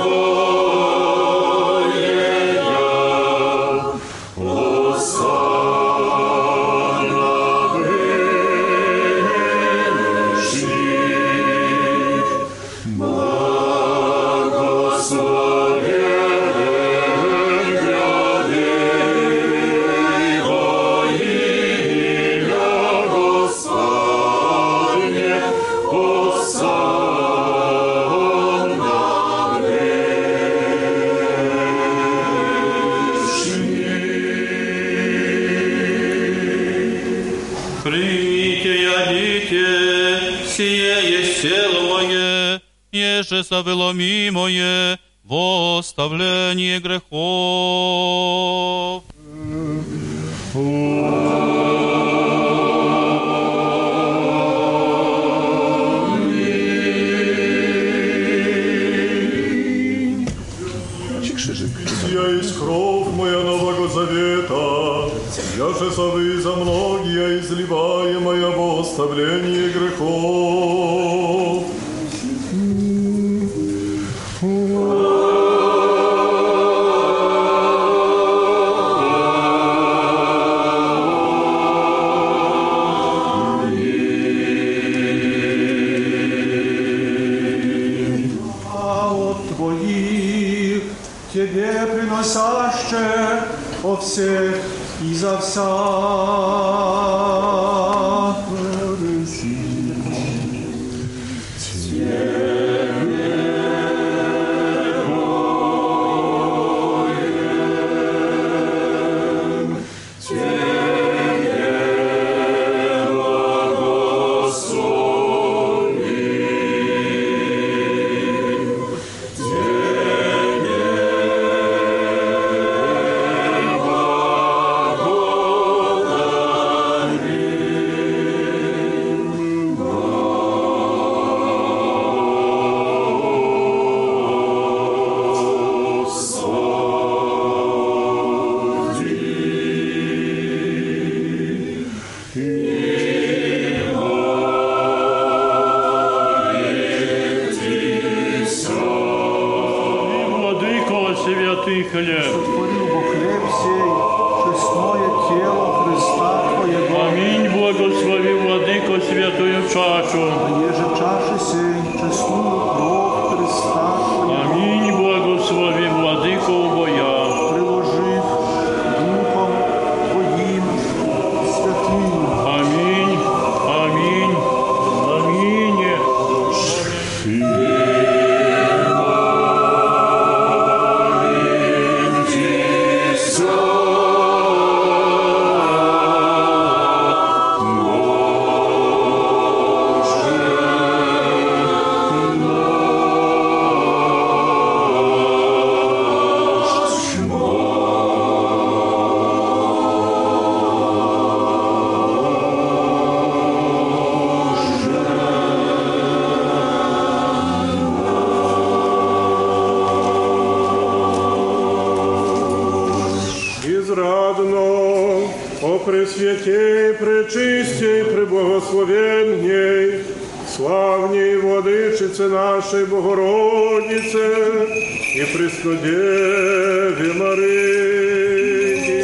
еже завело мое во оставление грехов.
Сия есть кровь моя нового завета, яже совы за многие изливаемая во оставление грехов.
Тебе приносяще о всех и за вся.
Святый хлеб.
Сотворил Бог хлеб сей, честное тело Христа Твоего.
Аминь, благослови, Владыко, святую чашу.
Еже чаши сей, честную кровь Христа Твоего.
Аминь, благослови, Владыко, убоя.
Приложив Духом Твоим святым.
Аминь, аминь, аминь.
Израдно, о Пресвятей, Пречистей, Преблагословенней, славней Владычице нашей Богородице и Преснодеве Марии.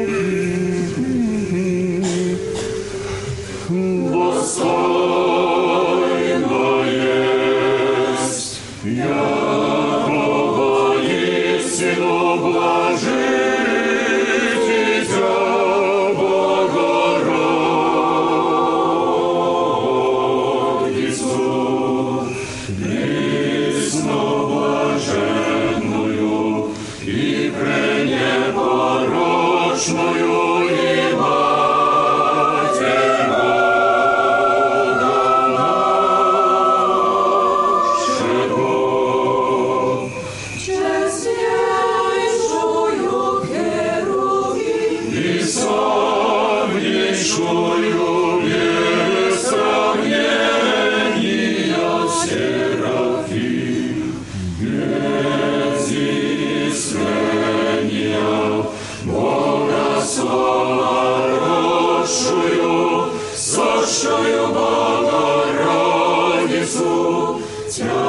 Достойно есть, якого истину блажитеся, Богородицу, пресноблаженную и пренепорочную и Матерь
Честнейшую Херувим
и славнейшую без сравнения Серафим, без искрения Бога слава росшую, сошую Богородицу, Тя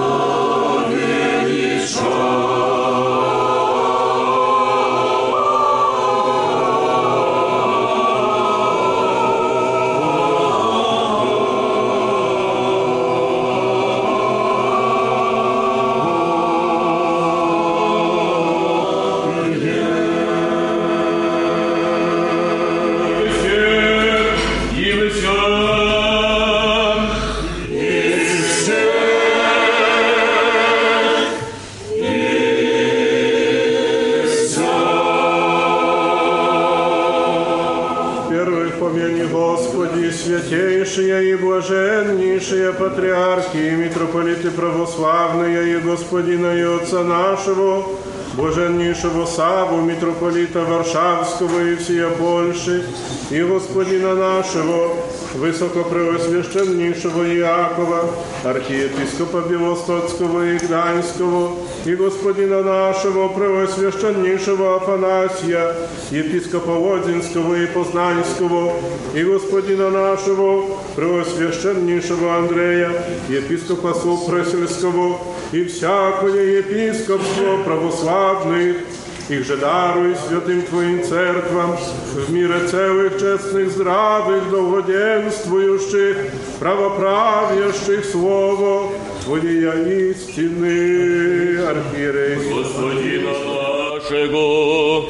святейшие и блаженнейшие патриархи и митрополиты православные и господина и отца нашего, блаженнейшего Саву, митрополита Варшавского и всея Польши, и господина нашего, высокопреосвященнейшего Иакова, архиепископа Белостоцкого и Гданьского, и господина нашего, преосвященнейшего Афанасия, епископа Лодзинского и Познанского, и господина нашего, преосвященнейшего Андрея, епископа Супресельского, и всякое епископство православных, их же даруй святым Твоим церквам, в мире целых, честных, здравых, долгоденствующих, правоправящих Слово Твоя истины, архиерей.
Господина нашего,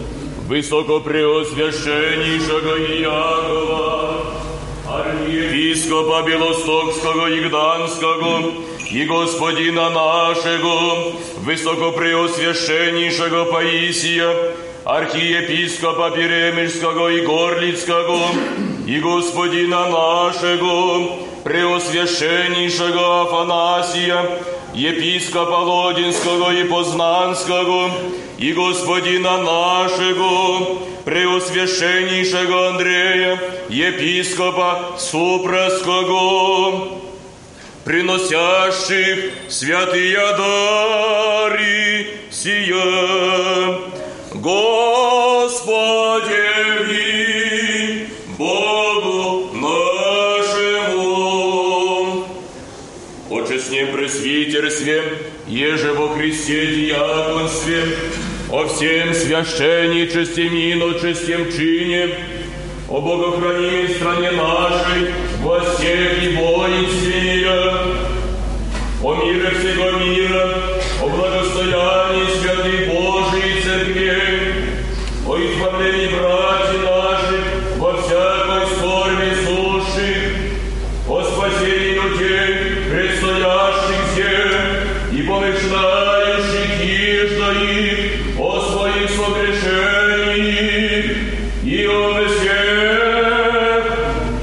высокопреосвященнейшего Иакова, архиепископа Белостокского и Гданского, и господина нашего, высокопреосвященнейшего Паисия, архиепископа Перемельского и Горлицкого, и господина нашего, преосвященнейшего Афанасия, епископа Лодинского и Познанского, и господина нашего, преосвященнейшего Андрея, епископа Супрасского, приносящих святые дары сия. Господи, Богу нашему, о честном пресвитерстве, еже во Христе диаконстве, о всем священничестве и иночествем чине, о богохранимой стране нашей, властях и воинстве, о мире всего мира, о благостоянии святой Божией Церкви, о избавлении братьев наших во всякой скорби сущих, о спасении людей, предстоящих всех, и помышляющих ижда их, о своих согрешениях, и о всех,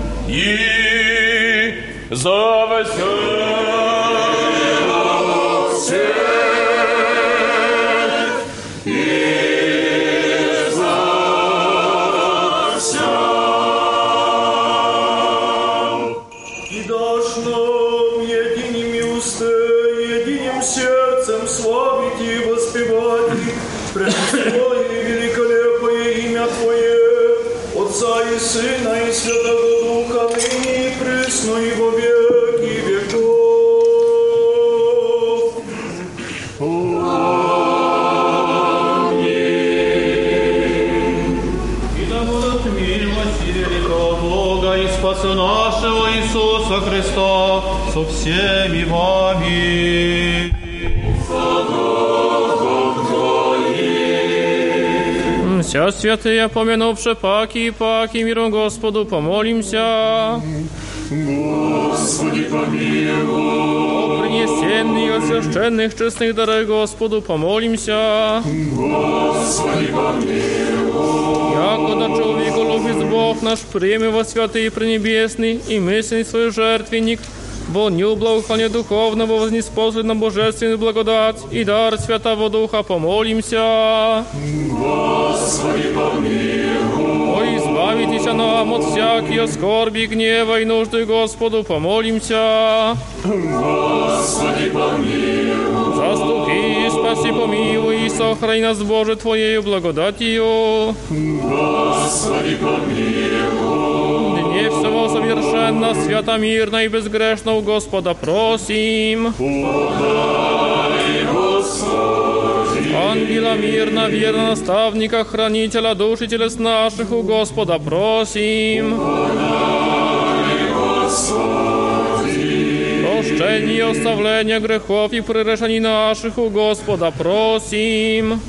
и за всех.
Сына и Святого Духа, ныне и присно и во веки веков. Аминь.
И да будут милость и великого Бога и Спаса нашего Иисуса Христа со всеми вами.
Вся святые, помянувши паки и паки, миром Господу помолимся.
Господи, помилуй.
О принесенных от священных честных даров Господу помолимся.
Господи, помилуй.
Яко да человеку любит Бог наш, прими во святый и пренебесный, и мысленный свой жертвенник, волню благоухания духовного вознеспослед на божественную благодать и дар Святого Духа помолимся.
Господи, помилуй.
О, избавитесь нам от всякие скорби, гнева и нужды, Господу помолимся.
Господи, помилуй.
Заступи, спаси, помилуй и сохрани нас, Боже, Твоею благодатью.
Господи, помилуй.
Дне всего совершенно, свято, мирно и безгрешно у Господа просим.
Подай, Господи.
Ангела мирно, верно, наставника, хранителя душ и телес наших у Господа просим.
Подай, Господи.
Прощение и оставление грехов и прегрешений наших у Господа просим.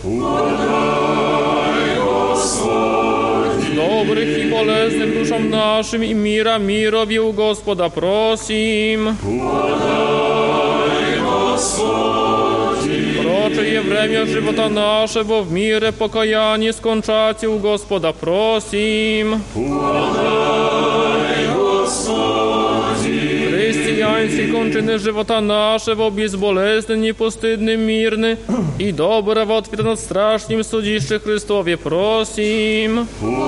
Подай, Господи.
Добрых и полезных душам нашим и мира мирови у Господа просим.
Подай, Господи.
Прочее время живота нашего в мире покаяние скончати у Господа просим.
Подай, Господи.
Христианские кончины живота нашего безболезненны, постыдны, мирны и доброго ответа над страшным судище Христове просим.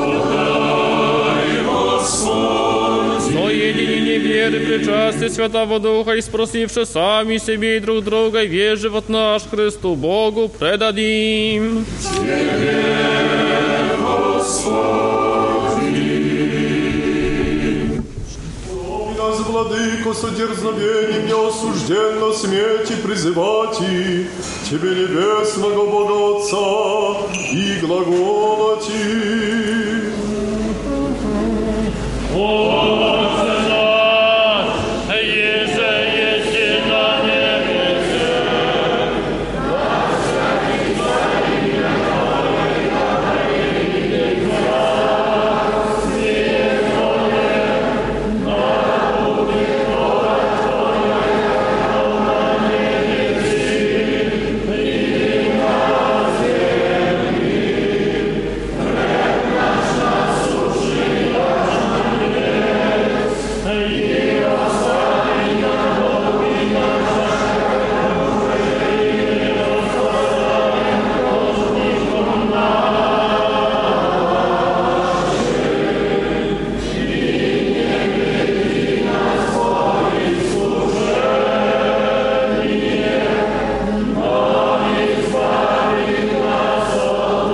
Подай, Господи.
Соединение веры, причастие Святого Духа и спросивши сами себе и друг друга, весь живот наш Христу Богу предадим.
Тебе, Господи.
Нас, Владыко, со дерзновением неосужденно смейте призывать и Тебе, небесного Бога Отца, и глаголать и
Отче наш, еже еси на небесе, благословится имя Твое, да придет Царствие Твое, да будет воля Твоя, на небесе и на земле. Хлеб наш насущный дашь нам днес, и остави нам долги наши, как и мы оставляем должникам нашим. И не веди нас в искушение, но избави нас от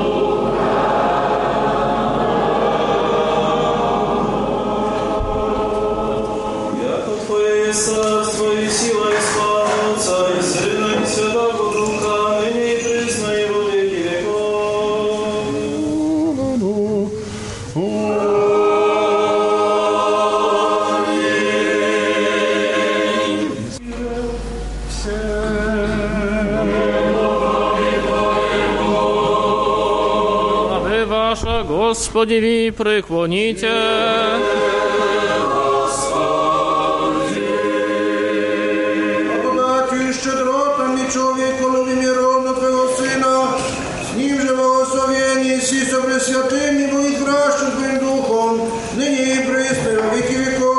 Яко Твое есть царство и сила и слава Отца и Сына и Святого Духа, ныне и присно и во веки веков.
Господи, ви преклоните.
Благодатью и щедротами человеколови миров Твоего Сына, с Ним же благословение си со пресвятым и будет вращен Твоим Духом, ныне и присно, и во веки веков.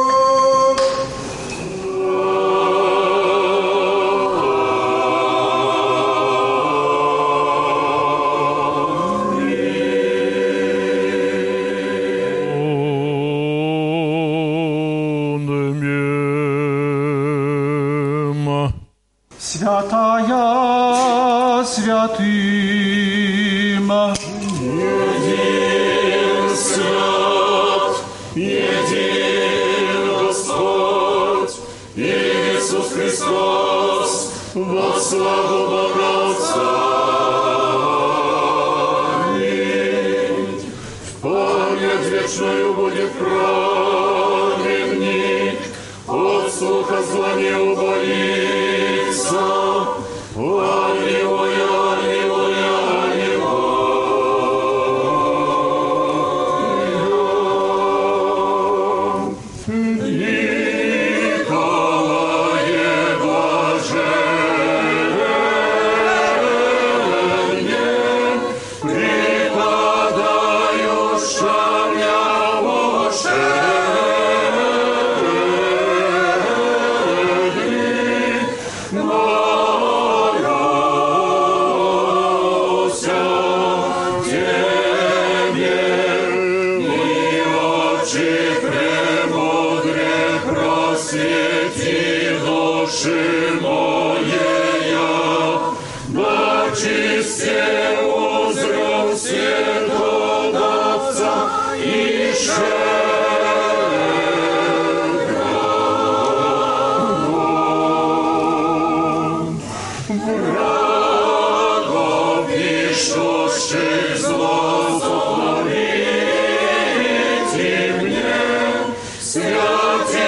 Святая святым,
един свят, един Господь, Иисус Христос, во славу Бога Отца. Аминь. В память вечную будет праведник, от слуха зла не убоится. Аллилуйя, аллилуйя, аллилуйя. Николае блаженне, преподающая Святи души моея, бачисте узрел светодавца и щедрого врагов ищущих зло сотворите мне, святей.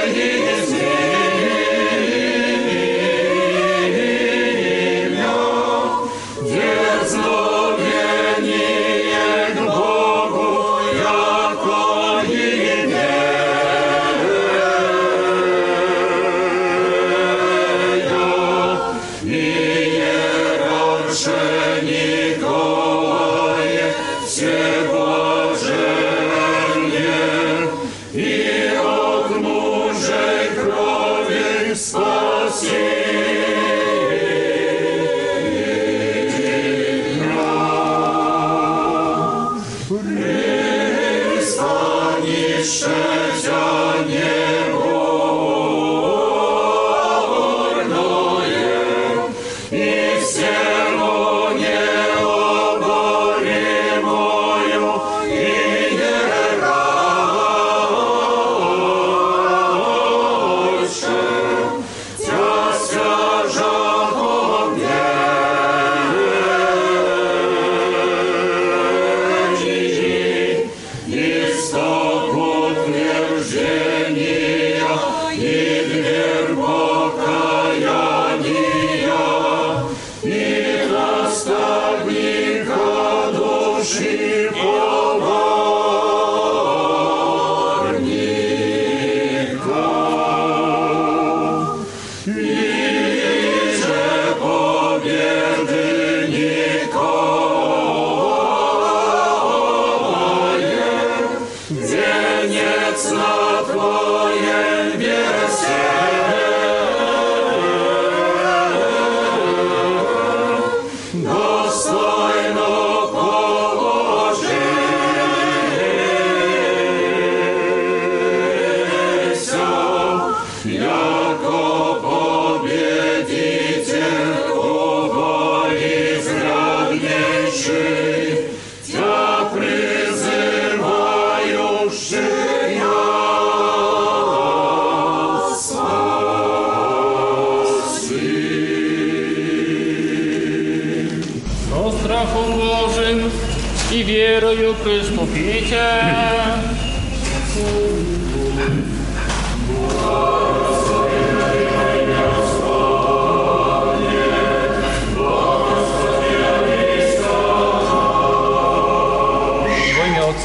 и верою приступите.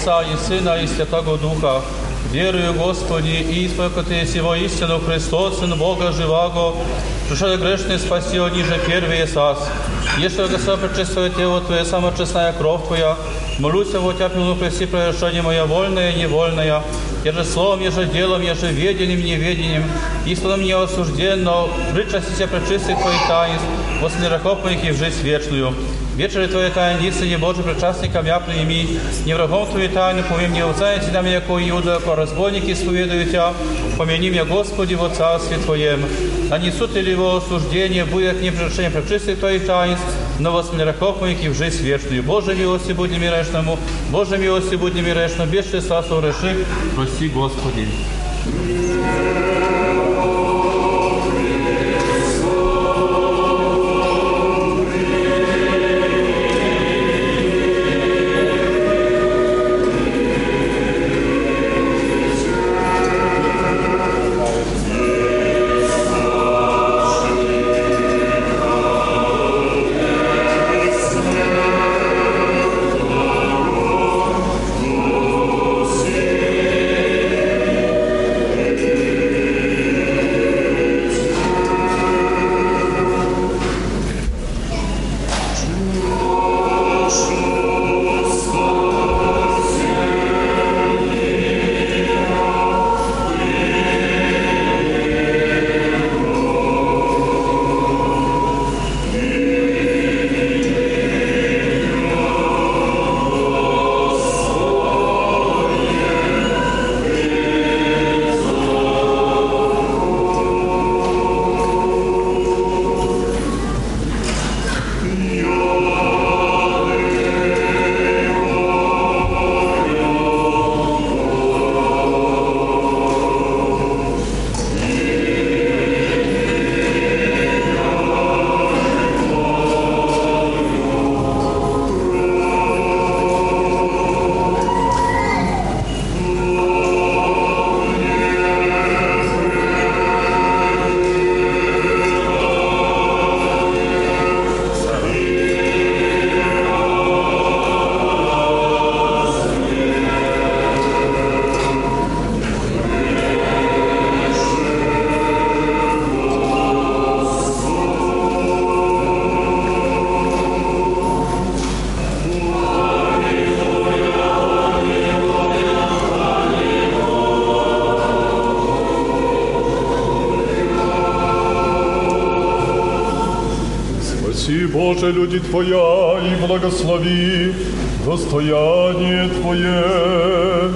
Отца и Сына и Святого Духа. Верую, Господи, и исповедаю Ты есть его истину, Христос, Сын Бога живаго, пришел грешный спаси, ниже первый сас. Если Господь пречествует Тело Твое, самая честная кровь Твоя, молюсь о Тебя, пилу преси прегрешение моя вольное и невольное, еже словом, еже делом, еже ведением, неведением, истинно мне осужденно, причастися пречистых Твоих таинств, после грехов моих и в жизнь вечную. Вечери Твоей тайны, истине Божий, причастникам я прими, не врагом Твоей тайны, повем, не узнаете нам, яко Иуда, яко разбойники исповедую Тебя, помяни меня, Господи, во Царстве Твоем. Нанесут ли его осуждение, будет не прегрешение пречистых Твоих таинств, но во грехов моих и в жизнь вечную. Боже милости будь немирешному, Боже милости будь немирешному, без числа согреших, прости, Господи.
Боже, люди Твоя, и благослови достояние Твое.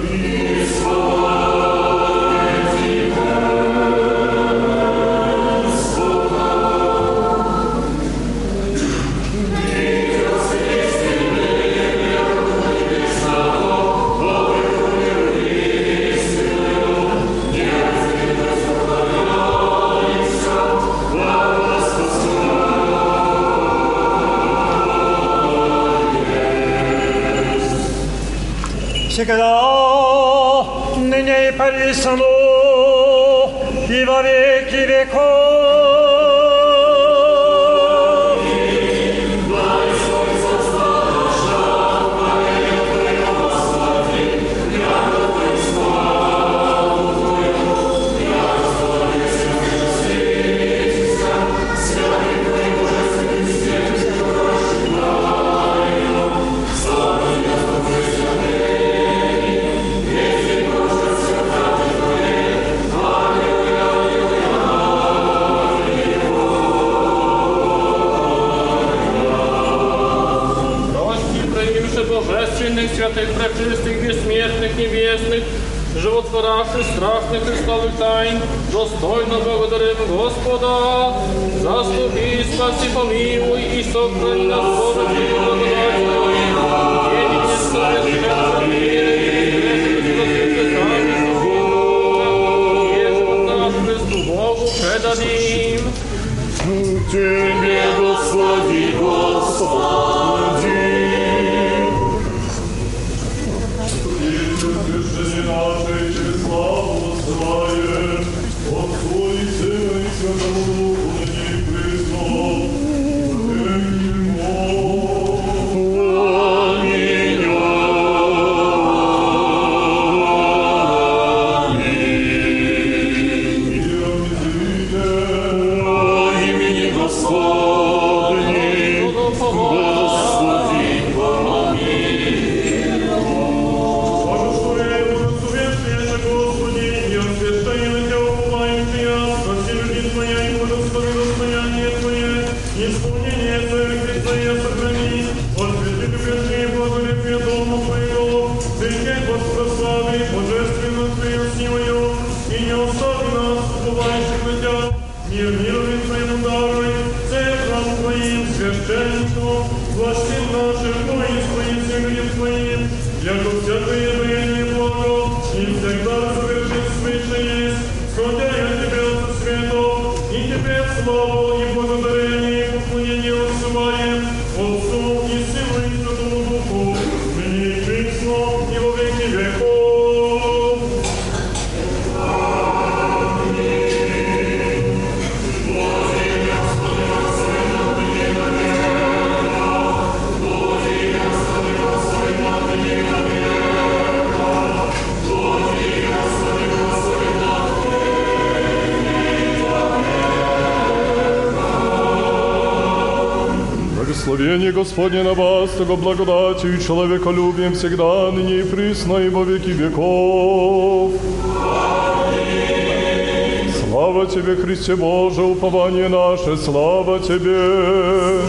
Всегда, ныне и присно, и во веки веков.
Святых, пречистых, бессмертных, небесных, животворящих, страшных Христовых тайн, достойно благодарим Господа. Заступи, спаси, помилуй и сохрани нас, Боже, Твою благодать Твою. Едине славя и живот наш Христу Богу предадим.
Тебе, Господи, Господи.
Аминь.
исполнение Твоих Христа сохрани, от святых и благолепия Дома Твоего, прикрепь вас прославы, божественно Твою силою, и не остави нас, уповающих на Тебя, мир мировым Твоему даруй, царь храм Твоим, священником, властям нашим, воинствуем всем Твоим, яко всякое время и благо, и всегда совершенствуется есть, сходя от Тебя со светом, и Тебе славу и благодарение и поклонение отсылаем, Отцу и Сыну и Святому Духу, ныне и присно, и во веки веков.
Благословение Господне на вас, того благодатью и человеколюбием всегда, ныне и присно, и во веки веков. Аминь. Слава Тебе, Христе Боже, упование наше, слава Тебе.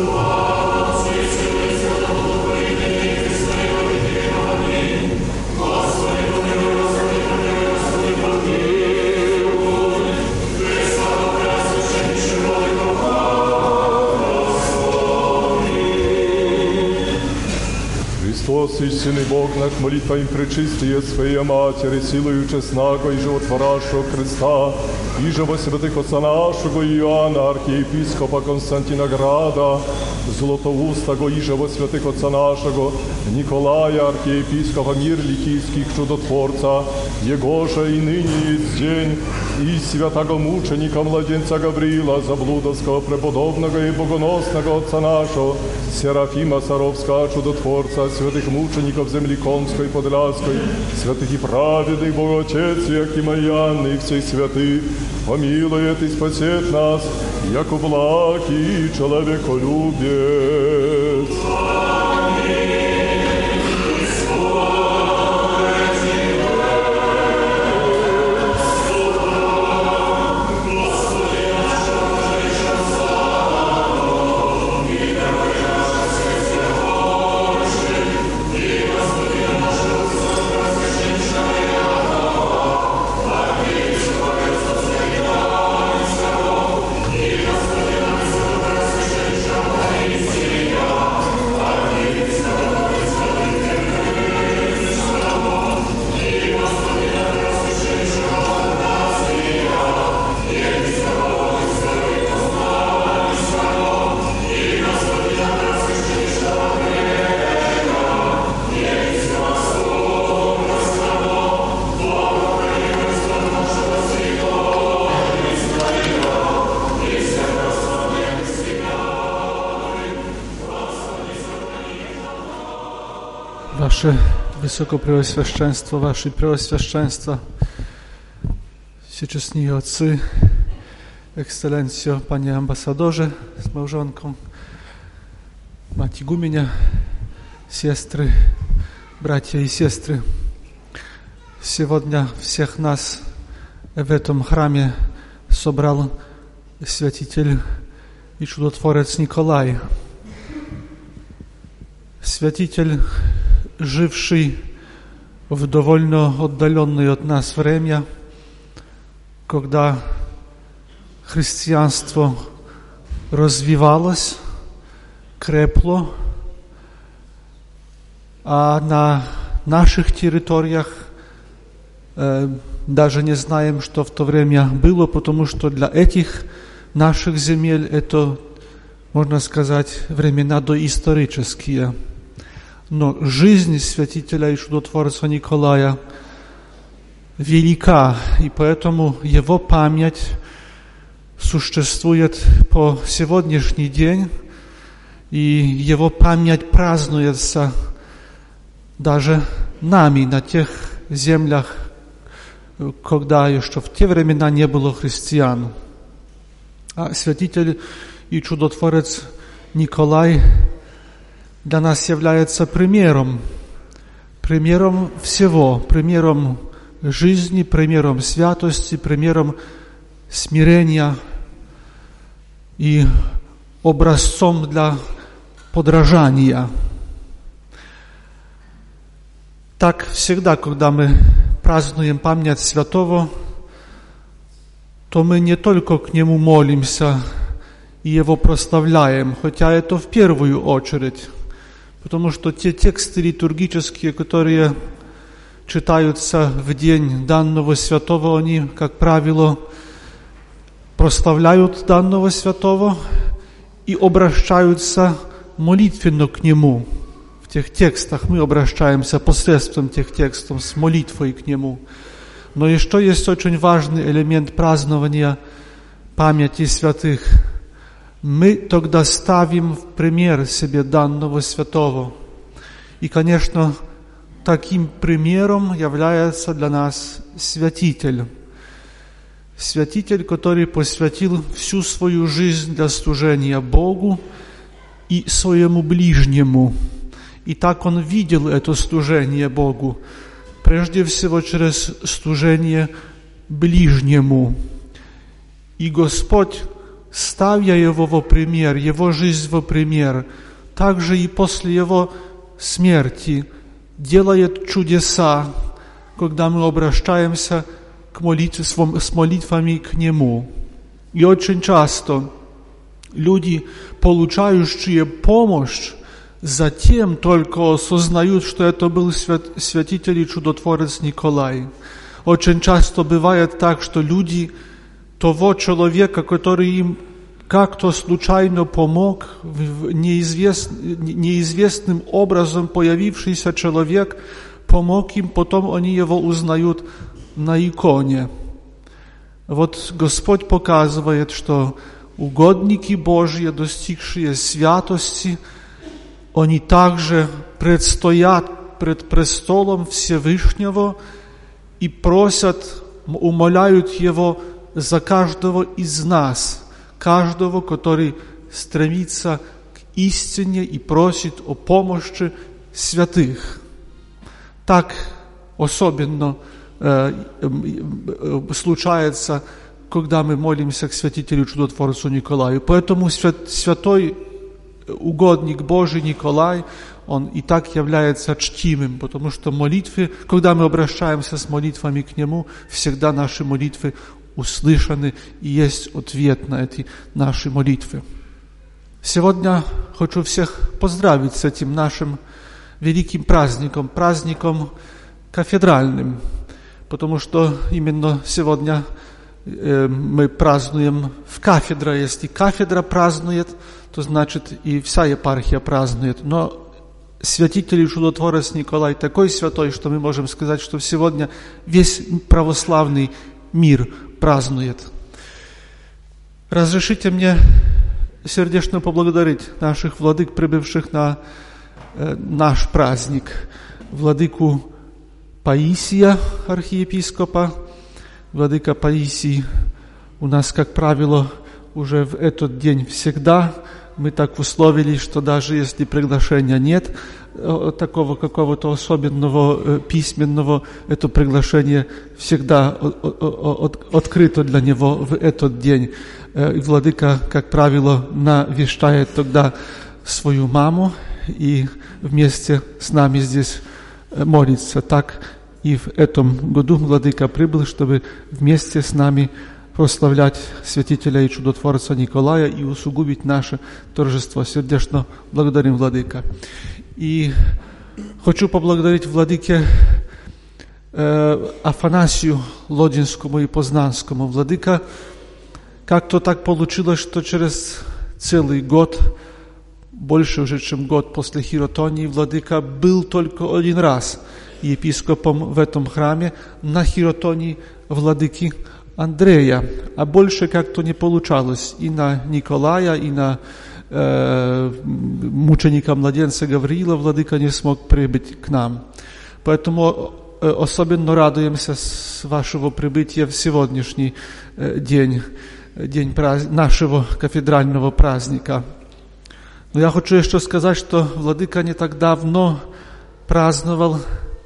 Христос, истинный Бог наш, молитва им пречистые Своей Матери, силою честного и животворящего Христа, и же во святых отца нашего Иоанна, архиепископа Константина Града, Златоустого, и же во святых отца нашего Николая, архиепископа мир ликийских чудотворца, Его же и ныне есть день, и святого мученика младенца Гавриила, заблудовского преподобного и богоносного отца нашего, Серафима Саровского чудотворца, святых мучеников земли Конской и Подляской, святых и праведных Богоотец Якима и Анны и всех святых, помилует и спасет нас, яко благ и человеколюбец.
Wasze Wysokopreosвященство, Wasze Preosвященство, Всечестні Отцы, Ekscelencjo, Panie Ambasadorze z małżonką, Mać Igumienia, siostry, братья и сестры. Сегодня всех нас в этом храме собрал святитель и чудотворец Николай. Святитель, живший в довольно отдаленное от нас время, когда христианство развивалось, крепло, а на наших территориях э, даже не знаем, что в то время было, потому что для этих наших земель это, можно сказать, времена доисторические. Но жизнь святителя и чудотворца Николая велика, и поэтому его память существует по сегодняшний день, и его память празднуется даже нами на тех землях, когда еще в те времена не было христиан. А святитель и чудотворец Николай для нас является примером, примером всего, примером жизни, примером святости, примером смирения. И образцом для подражания. Так всегда, когда мы празднуем память святого, то мы не только к нему молимся и его прославляем, хотя это в первую очередь, потому что те тексты литургические, которые читаются в день данного святого, они, как правило, прославляют данного святого и обращаются молитвенно к нему. В тех текстах мы обращаемся посредством тех текстов с молитвой к нему. Но еще есть очень важный элемент празднования памяти святых. Мы тогда ставим в пример себе данного святого. И, конечно, таким примером является для нас святитель. Святитель, который посвятил всю свою жизнь для служения Богу и своему ближнему. И так он видел это служение Богу, прежде всего через служение ближнему. И Господь, ставя его во пример, его жизнь во пример, также и после его смерти делает чудеса, когда мы обращаемся к молитве, с молитвами к Нему. И очень часто люди, получающие помощь, затем только осознают, что это был свят, святитель и чудотворец Николай. Очень часто бывает так, что люди того человека, который им как-то случайно помог, неизвест, неизвестным образом появившийся человек помог им, потом они его узнают на иконе. Вот Господь показывает, что угодники Божьи, достигшие святости, они также предстоят пред престолом Всевышнего и просят, умоляют Его за каждого из нас, каждого, который стремится к истине и просит о помощи святых. Так особенно э, э, случается, когда мы молимся к святителю чудотворцу Николаю. Поэтому свят, святой угодник Божий Николай, он и так является чтимым, потому что молитвы, когда мы обращаемся с молитвами к Нему, всегда наши молитвы услышаны и есть ответ на эти наши молитвы. Сегодня хочу всех поздравить с этим нашим великим праздником, праздником кафедральным, потому что именно сегодня э, мы празднуем в кафедре. Если кафедра празднует, то значит и вся епархия празднует. Но святитель и чудотворец Николай такой святой, что мы можем сказать, что сегодня весь православный мир празднует. Разрешите мне сердечно поблагодарить наших владык, прибывших на э, наш праздник. Владыку Паисия, архиепископа. Владыка Паисий у нас, как правило, уже в этот день всегда. Мы так условились, что даже если приглашения нет, такого какого-то особенного письменного, это приглашение всегда открыто для него в этот день. И владыка, как правило, навещает тогда свою маму и вместе с нами здесь молится. Так и в этом году владыка прибыл, чтобы вместе с нами прославлять святителя и чудотворца Николая и усугубить наше торжество. Сердечно благодарим владыка. И хочу поблагодарить владыке э, Афанасию Лодинскому и Познанскому. Владыка, как-то так получилось, что через целый год, больше уже, чем год после хиротонии, владыка был только один раз епископом в этом храме на хиротонии владыки Андрея, а больше как-то не получалось и на Николая, и на э, мученика-младенца Гавриила владыка не смог прибыть к нам. Поэтому э, особенно радуемся с вашего прибытия в сегодняшний э, день, день праз... нашего кафедрального праздника. Но я хочу еще сказать, что владыка не так давно праздновал,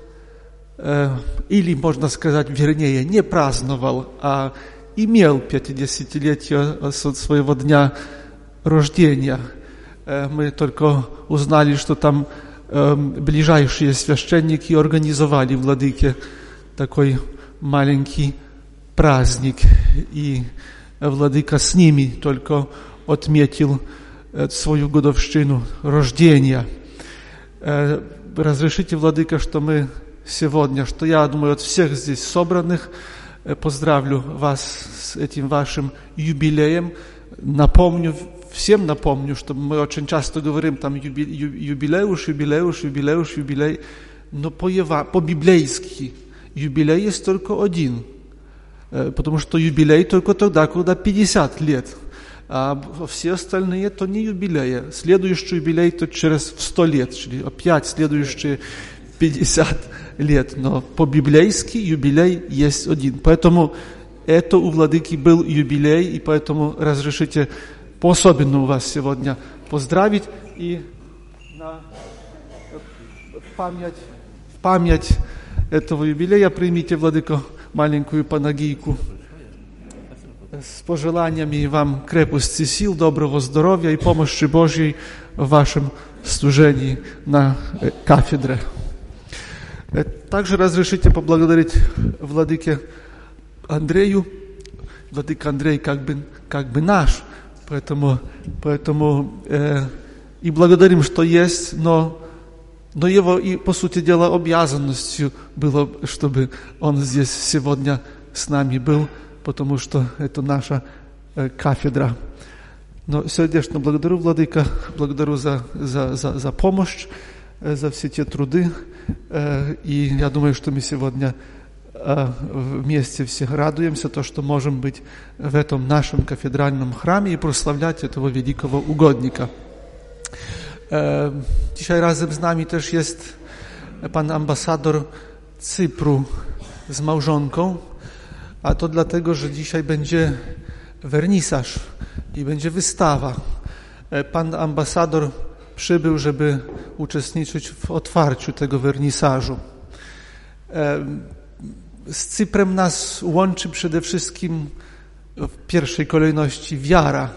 или, можно сказать, вернее, не праздновал, а имел пятидесятилетие от своего дня рождения. Мы только узнали, что там ближайшие священники организовали владыке такой маленький праздник, и владыка с ними только отметил свою годовщину рождения. Разрешите, владыка, что мы сегодня, что я думаю, от всех здесь собранных поздравлю вас с этим вашим юбилеем. Напомню, всем напомню, что мы очень часто говорим там юбилеуш, юбилеуш, юбилеуш, юбилей, но по-библейски юбилей есть только один, потому что юбилей только тогда, когда пятьдесят лет, а все остальные то не юбилеи. Следующий юбилей то через сто лет, или опять следующие пятьдесят лет, но по-библейски юбилей есть один. Поэтому это у владыки был юбилей, и поэтому разрешите по-особенному вас сегодня поздравить и на, в, память, в память этого юбилея примите, владыко, маленькую панагийку с пожеланиями вам крепости сил, доброго здоровья и помощи Божьей в вашем служении на кафедре. Также разрешите поблагодарить владыке Андрею. Владыка Андрей как бы, как бы наш, поэтому, поэтому э, и благодарим, что есть, но, но его и, по сути дела, обязанностью было, чтобы он здесь сегодня с нами был, потому что это наша э, кафедра. Но сердечно благодарю, владыка, благодарю за, за, за, за помощь, э, за все те труды, э, и я думаю, что мы сегодня вместе все радуемся, то, что можем быть в этом нашем кафедральном храме и прославлять этого великого угодника. Dzisiaj razem z nami też jest pan ambasador Cypru z małżonką, a to dlatego, że dzisiaj będzie wernisaż i będzie wystawa. Pan ambasador przybył, żeby uczestniczyć w otwarciu tego wernisażu. Z Cyprem nas łączy przede wszystkim w pierwszej kolejności wiara,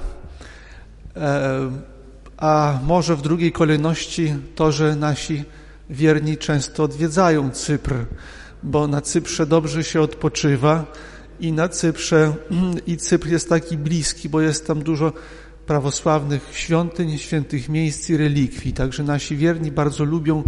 a może w drugiej kolejności to, że nasi wierni często odwiedzają Cypr, bo na Cyprze dobrze się odpoczywa i na Cyprze i Cypr jest taki bliski, bo jest tam dużo prawosławnych świątyń, świętych miejsc i relikwii. Także nasi wierni bardzo lubią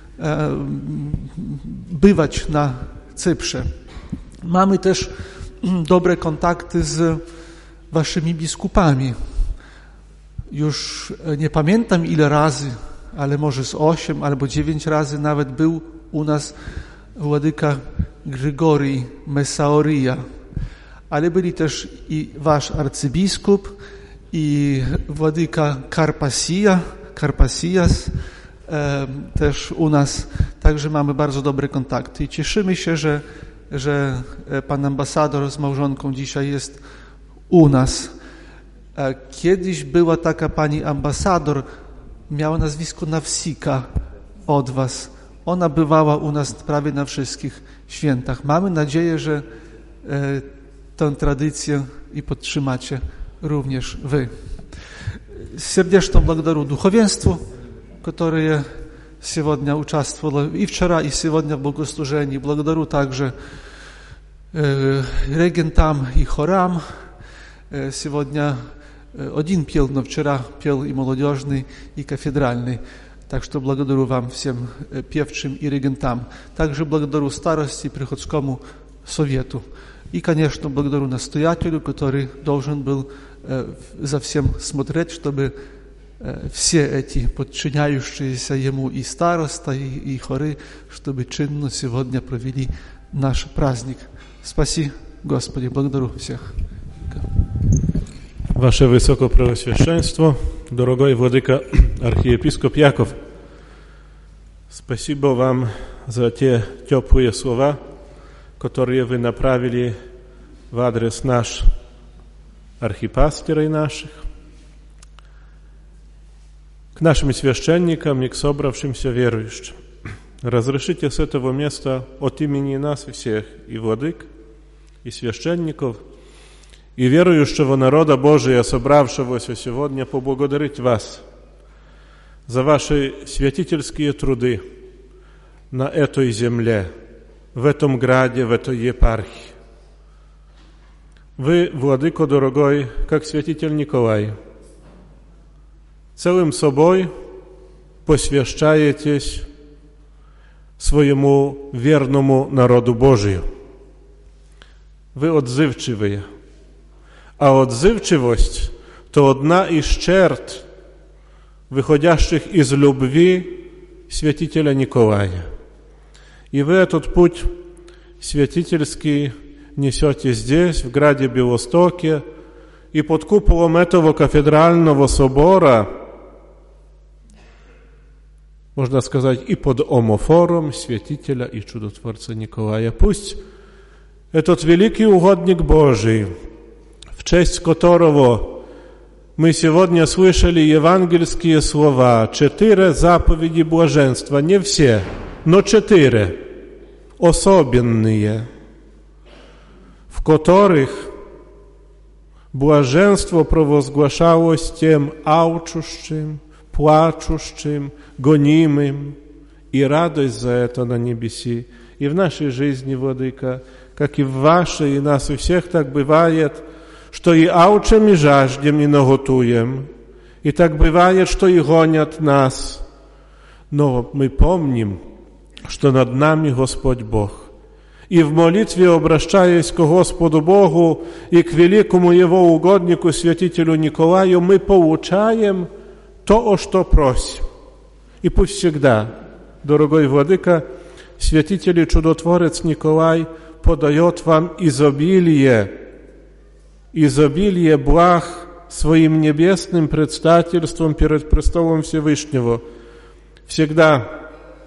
bywać na Cyprze. Mamy też dobre kontakty z waszymi biskupami. Już nie pamiętam ile razy, ale może z osiem albo dziewięć razy nawet był u nas władyka Grigorij Messaoria. Ale byli też i wasz arcybiskup, i władyka Karpasija, Karpasijas e, też u nas. Także mamy bardzo dobre kontakty i cieszymy się, że, że pan ambasador z małżonką dzisiaj jest u nas. E, kiedyś była taka pani ambasador, miała nazwisko Nawsika od was. Ona bywała u nas prawie na wszystkich świętach. Mamy nadzieję, że e, tę tradycję i podtrzymacie również wy. Сердечно благодарю духовенству, которое сегодня участвовало и вчера, и сегодня в богослужении. Благодарю также э, регентам и хорам. Э, сегодня один пел, но вчера пел и молодежный, и кафедральный. Так что благодарю вам всем певчим и регентам. Также благодарю старости и приходскому совету. И, конечно, благодарю настоятелю, который должен был э, за всем смотреть, чтобы э, все эти подчиняющиеся ему и староста, и, и хоры, чтобы чинно сегодня провели наш праздник. Спаси, Господи, благодарю всех.
Ваше Высокопреосвященство, дорогой владыка архиепископ Яков, спасибо вам за те теплые слова, которые вы направили в адрес наш архипастырей наших, к нашим священникам и к собравшимся верующим. Разрешите с этого места от имени нас всех, и владык, и священников, и верующего народа Божия, собравшегося сегодня, поблагодарить вас за ваши святительские труды на этой земле, в этом граде, в этой епархии. Вы, владыко дорогой, как святитель Николай, целым собой посвящаетесь своему верному народу Божию. Вы отзывчивые, а отзывчивость – то одна из черт, выходящих из любви святителя Николая. И вы этот путь святительский несете здесь, в граде Белостоке, и под куполом этого кафедрального собора, можно сказать, и под омофором святителя и чудотворца Николая. Пусть этот великий угодник Божий, в честь которого мы сегодня слышали евангельские слова, четыре заповеди блаженства, не все, но четыре, особенные, в которых блаженство провозглашалось тем алчущим, плачущим, гонимым, и радость за это на небеси. И в нашей жизни, Владыка, как и в вашей, и нас у всех так бывает, что и алчим, и жаждем, и наготуем. И так бывает, что и гонят нас. Но мы помним, что над нами Господь Бог. И в молитве, обращаясь к Господу Богу и к великому Его угоднику, святителю Николаю, мы получаем то, о что просим. И пусть всегда, дорогой Владыка, святитель и чудотворец Николай подает вам изобилие, изобилие благ своим небесным предстательством перед престолом Всевышнего. Всегда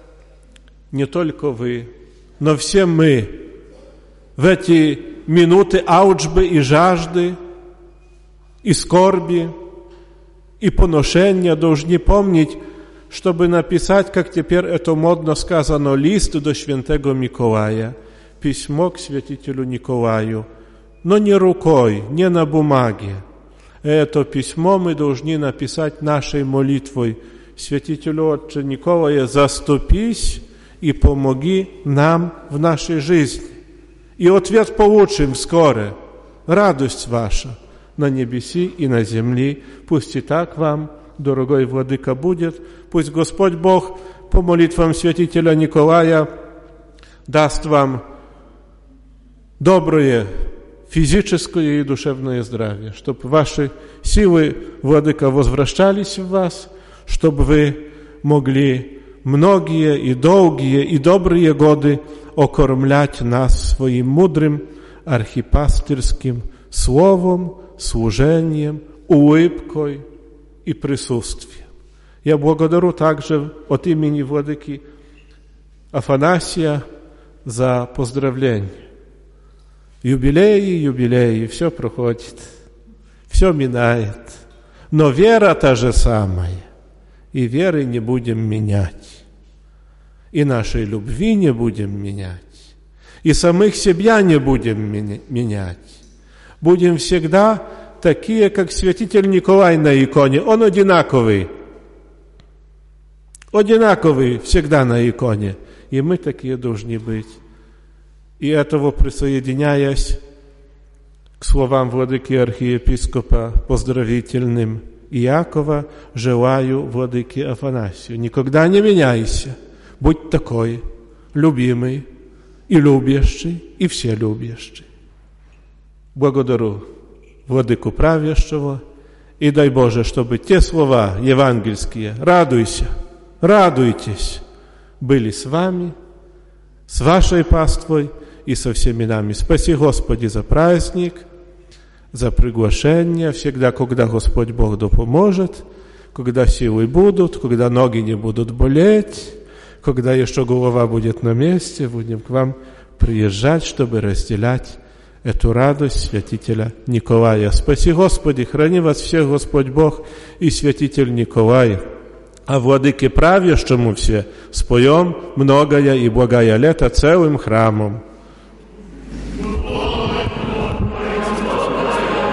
не только вы, но все мы в эти минуты алчбы и жажды, и скорби, и поношения должны помнить, чтобы написать, как теперь это модно сказано, лист до святого Миколая, письмо к святителю Николаю, но не рукой, не на бумаге. Это письмо мы должны написать нашей молитвой. Святителю Отче Николая, заступись и помоги нам в нашей жизни. И ответ получим скоро. Радость ваша на небеси и на земли. Пусть и так вам, дорогой Владыка, будет. Пусть Господь Бог по молитвам святителя Николая даст вам доброе физическое и душевное здравие, чтобы ваши силы, Владыка, возвращались в вас, чтобы вы могли многие и долгие и добрые годы окормлять нас своим мудрым архипастырским словом, служением, улыбкой и присутствием. Я благодарю также от имени Владыки Афанасия за поздравление. Юбилеи, юбилеи, все проходит, все минает, но вера та же самая, и веры не будем менять, и нашей любви не будем менять, и самих себя не будем менять. Будем всегда такие, как святитель Николай на иконе, он одинаковый, одинаковый всегда на иконе, и мы такие должны быть. И этого присоединяясь к словам владыки архиепископа поздравительным Иакова, желаю владыке Афанасию: никогда не меняйся, будь такой, любимый и любящий, и вселюбящий. Благодарю владыку правящего, и дай Боже, чтобы те слова евангельские «радуйся», «радуйтесь» были с вами, с вашей паствой и со всеми нами. Спаси, Господи, за праздник, за приглашение, всегда, когда Господь Бог допоможет, когда силы будут, когда ноги не будут болеть, когда еще голова будет на месте, будем к вам приезжать, чтобы разделять эту радость святителя Николая. Спаси, Господи, храни вас всех Господь Бог и святитель Николай. А владыке правящему все споем многое и благое лето целым храмом.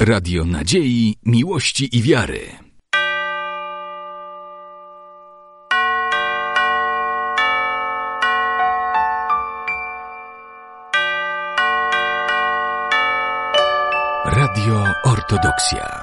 Radio nadziei, miłości i wiary. Radio Ortodoksja.